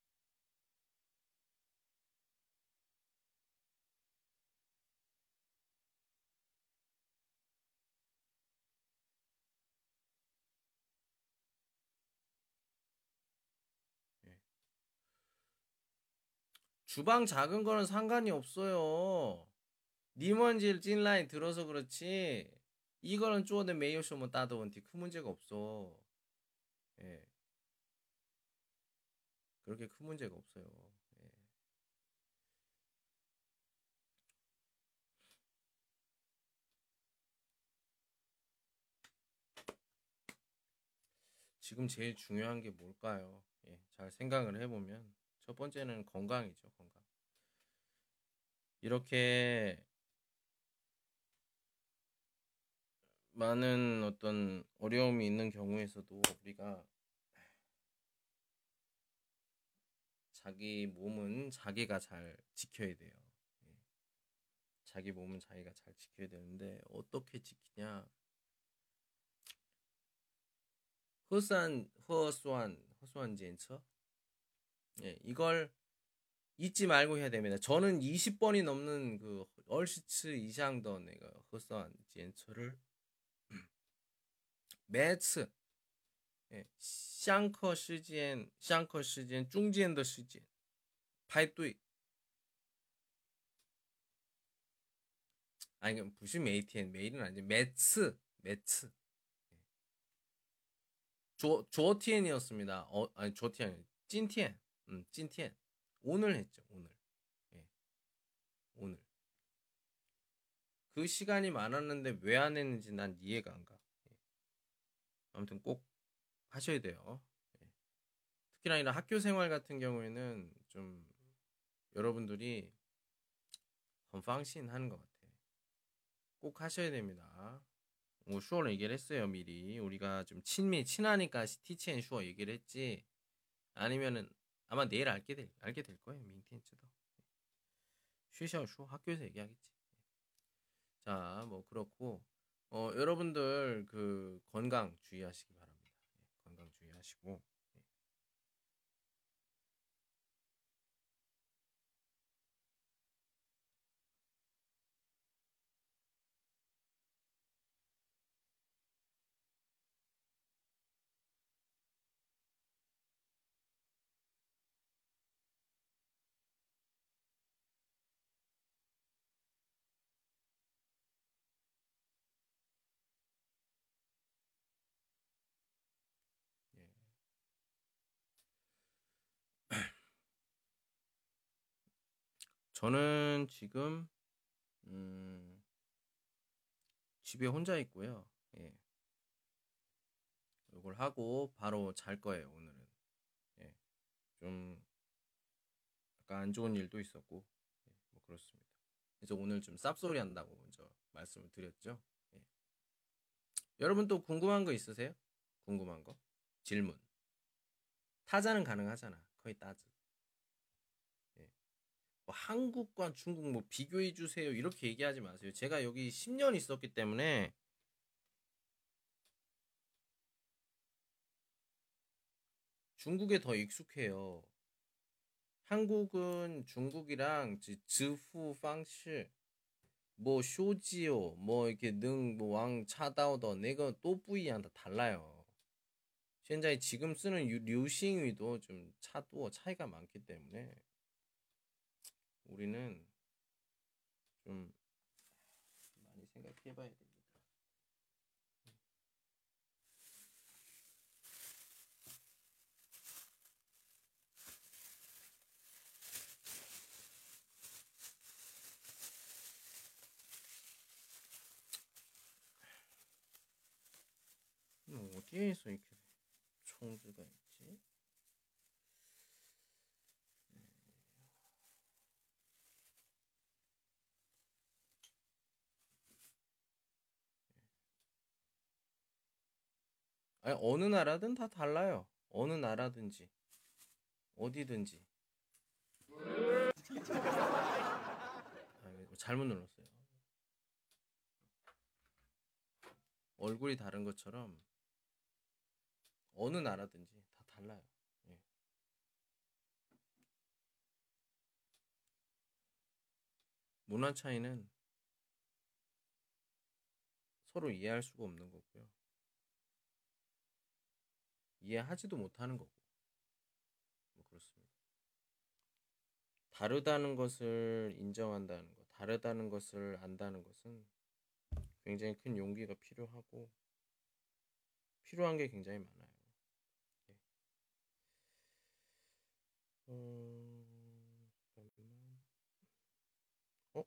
예. 주방 작은 거는 상관이 없어요. 니먼질 찐라인 들어서 그렇지. 이거는 쪼어된 메이오쇼면 따도 원티 큰 문제가 없어. 예. 그렇게 큰 문제가 없어요. 예. 지금 제일 중요한 게 뭘까요? 예, 잘 생각을 해보면 첫 번째는 건강이죠, 건강. 이렇게 많은 어떤 어려움이 있는 경우에서도 우리가 자기 몸은 자기가 잘 지켜야 돼요. 예. 자기 몸은 자기가 잘 지켜야 되는데 어떻게 지키냐? 허산, 허수한, 허수한检测? 예, 이걸 잊지 말고 해야 됩니다. 저는 이십 번이 넘는 그 얼시츠 이상더 내가 허수한检测를 매次 예, 上课时间、上课时间、中间的时间排队。 아니, 不是每天, 매일은 아니지. 매츠, 매츠. 昨昨天이었습니다. 어, 아니, 昨天 아니, 今天. 음, 今天. 오늘 했죠, 오늘. 예, 오늘. 그 시간이 많았는데 왜 안 했는지 난 이해가 안 가. 예. 아무튼 꼭 하셔야 돼요. 예. 특히나 이런 학교 생활 같은 경우에는 좀 여러분들이 헌팡신 하는 것 같아. 꼭 하셔야 됩니다. 뭐 슈어를 얘기를 했어요, 미리. 우리가 좀 친미 친하니까 티치앤 슈어 얘기를 했지. 아니면은 아마 내일 알게 될 알게 될 거예요, 민티엔츠도. 쉬셔 슈어 학교에서 얘기하겠지. 자, 뭐 그렇고 어, 여러분들 그 건강 주의하시기 바랍니다. 예, 건강 주의하시고. 예. 예. 저는 지금 음, 집에 혼자 있고요. 예. 이걸 하고 바로 잘 거예요, 오늘은. 예. 좀 약간 안 좋은 일도 있었고. 예, 뭐 그렇습니다. 그래서 오늘 좀 쌉소리 한다고 먼저 말씀을 드렸죠. 예. 여러분 또 궁금한 거 있으세요? 궁금한 거? 질문. 타자는 가능하잖아. 거의 따즈. 예. 뭐 한국과 중국 뭐 비교해 주세요. 이렇게 얘기하지 마세요. 제가 여기 십 년 있었기 때문에 중국에 더 익숙해요. 한국은 중국이랑 지후 방식 뭐 쇼지요 뭐 이렇게 능뭐왕 차다오더 내가 또 뿌이양 다 달라요. 현재 지금 쓰는 류싱위도 좀 차도 차이가 많기 때문에 우리는 좀 많이 생각해봐야 됩니다. 음, 어디에서 이렇게 총수가 있지? 아니, 어느 나라든 다 달라요. 어느 나라든지 어디든지. 아, 잘못 눌렀어요. 얼굴이 다른 것처럼 어느 나라든지 다 달라요. 예. 문화 차이는 서로 이해할 수가 없는 거고요. 이해하지도 못하는 거고. 뭐 그렇습니다. 다르다는 것을 인정한다는 것, 다르다는 것을 안다는 것은 굉장히 큰 용기가 필요하고 필요한 게 굉장히 많아요. 예. 음, 잠깐만. 어?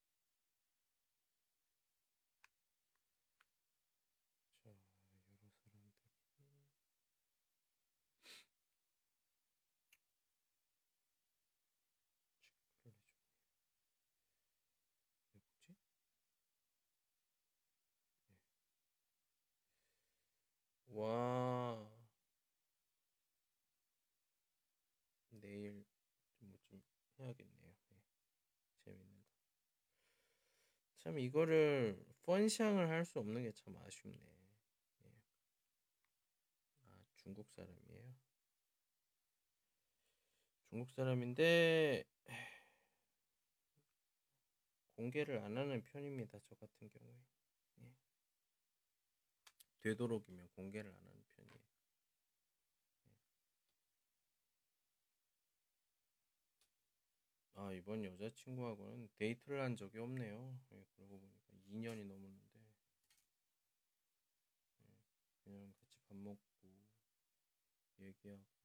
자, 여러 사람. 내일 좀, 좀 해야겠네요. 예. 재밌는 거. 참 이거를 펀샹을 할 수 없는 게 참 아쉽네. 예. 아, 중국 사람이에요. 중국 사람인데 공개를 안 하는 편입니다. 저 같은 경우에. 예. 되도록이면 공개를 안 하는 편이에요. 예. 아, 이번 여자친구하고는 데이트를 한 적이 없네요. 예, 그러고 보니까 이 년이 넘었는데 예, 그냥 같이 밥 먹고 얘기하고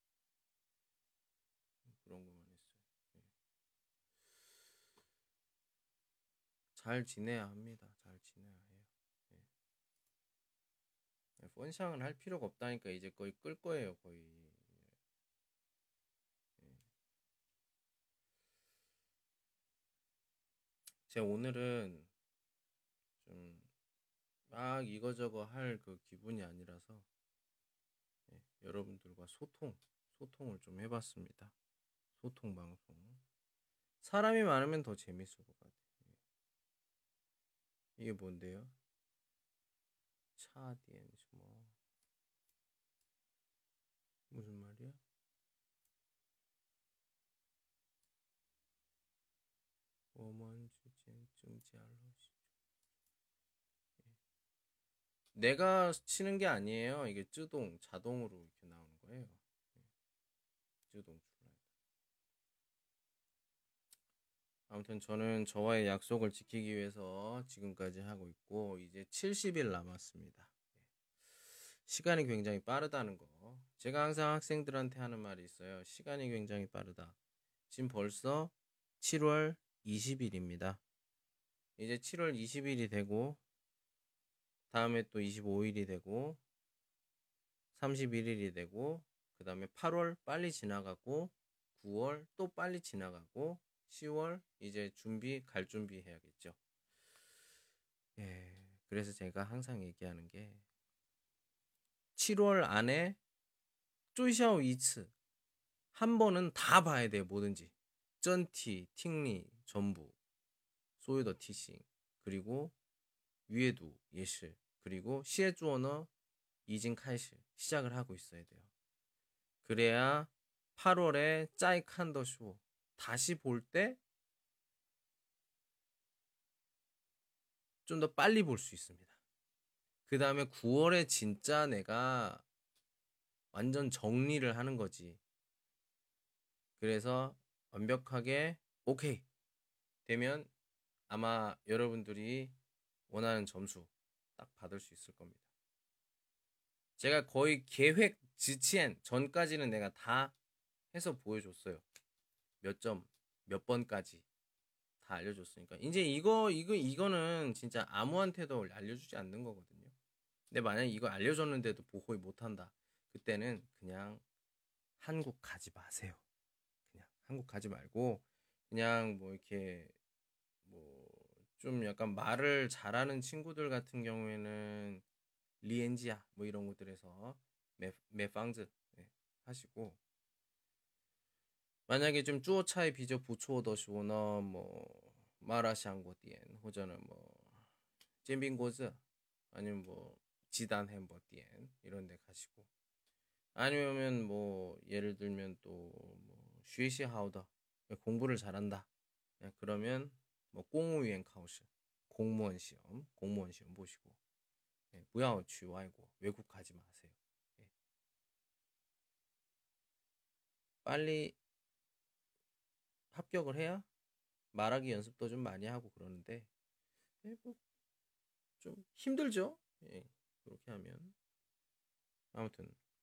그런 것만 했어요. 예. 잘 지내야 합니다. 잘 지내야 해요. 예. 펀샹을 할 필요가 없다니까 이제 거의 끌 거예요. 거의. 예. 제가 오늘은 좀 막 이거저거 할 그 기분이 아니라서 예, 여러분들과 소통, 소통을 좀 해봤습니다. 소통 방송. 사람이 많으면 더 재밌을 것 같아요. 예. 이게 뭔데요? 차디엔스 뭐 무슨 말이야? 워먼之间争假러시 내가 치는 게 아니에요. 이게 쯔동 자동으로 이렇게 나오는 거예요. 쯔동 출라이. 아무튼 저는 저와의 약속을 지키기 위해서 지금까지 하고 있고 이제 칠십 일 남았습니다. 시간이 굉장히 빠르다는 거. 제가 항상 학생들한테 하는 말이 있어요. 시간이 굉장히 빠르다. 지금 벌써 칠월 이십일입니다. 이제 칠월 이십일이 되고 다음에 또 이십오일이 되고 삼십일일이 되고 그 다음에 팔월 빨리 지나가고 구월 또 빨리 지나가고 시월 이제 준비 갈 준비 해야겠죠. 예, 그래서 제가 항상 얘기하는 게 칠월 안에 쪼이샤오 이츠 한 번은 다 봐야 돼요. 뭐든지 쩐티, 팅리 전부 소유더 티싱 그리고 위에도 예시 그리고 시에주어너 이진 카이시 시작을 하고 있어야 돼요. 그래야 팔월에 짜이 칸더쇼 다시 볼 때 좀 더 빨리 볼 수 있습니다. 그 다음에 구월에 진짜 내가 완전 정리를 하는 거지. 그래서 완벽하게 오케이 되면 아마 여러분들이 원하는 점수 딱 받을 수 있을 겁니다. 제가 거의 계획 지치엔 전까지는 내가 다 해서 보여줬어요. 몇 점, 몇 번까지 다 알려줬으니까 이제 이거 이거 이거는 진짜 아무한테도 알려주지 않는 거거든요. 근데 만약에 이거 알려줬는데도 보호이 못한다. 그때는 그냥 한국 가지 마세요. 그냥 한국 가지 말고 그냥 뭐 이렇게 뭐 좀 약간 말을 잘하는 친구들 같은 경우에는 리엔지아 뭐 이런 곳들에서 메, 메팡즈 네, 하시고 만약에 좀 쭈어차이 비저 부초더시오너 뭐 마라샹고디엔 호저는 뭐 잼빙고즈 아니면 뭐 지단 햄버디엔 이런 데 가시고 아니면 뭐 예를 들면 또뭐 슈이시 하우더 공부를 잘한다 그러면 뭐 공무위엔 카우스 공무원 시험 공무원 시험 보시고 예, 무야오 취와이고 외국 가지 마세요. 예. 빨리 합격을 해야 말하기 연습도 좀 많이 하고 그러는데 예, 뭐좀 힘들죠. 예, 그렇게 하면 아무튼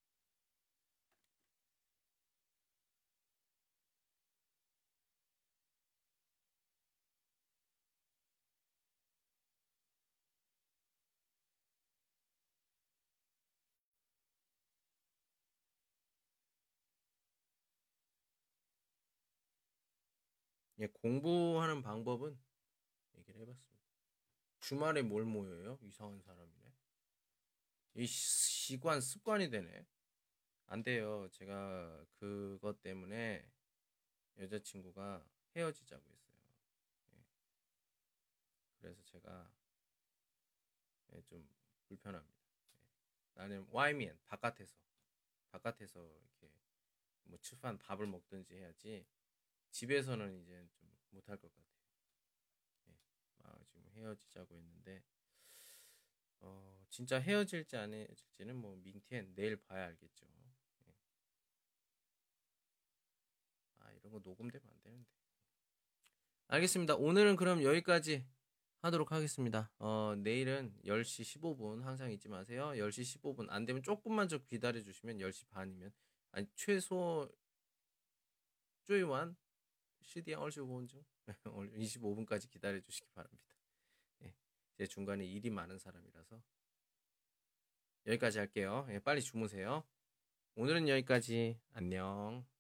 예, 공부하는 방법은 얘기를 해봤습니다. 주말에 뭘 모여요? 이상한 사람이네. 이 시관 습관이 되네. 안 돼요. 제가 그것 때문에 여자친구가 헤어지자고 했어요. 예. 그래서 제가 예, 좀 불편합니다. 예. 나는 와이면 바깥에서 바깥에서 이렇게 뭐吃饭 밥을 먹든지 해야지 집에서는 이제 좀 못할 것 같아요. 예. 아, 지금 헤어지자고 했는데 어, 진짜 헤어질지 안 헤어질지는 뭐 민티엔 내일 봐야 알겠죠. 예. 아, 이런 거 녹음되면 안 되는데. 알겠습니다. 오늘은 그럼 여기까지 하도록 하겠습니다. 어, 내일은 열 시 십오 분 항상 잊지 마세요. 열 시 십오 분 안 되면 조금만 좀 기다려 주시면 열 시 반이면 아니 최소 쪼이완 시디앙 얼씨오 분 중 이십오 분까지 기다려 주시기 바랍니다. 예. 제 중간에 일이 많은 사람이라서 여기까지 할게요. 예, 빨리 주무세요. 오늘은 여기까지. 안녕.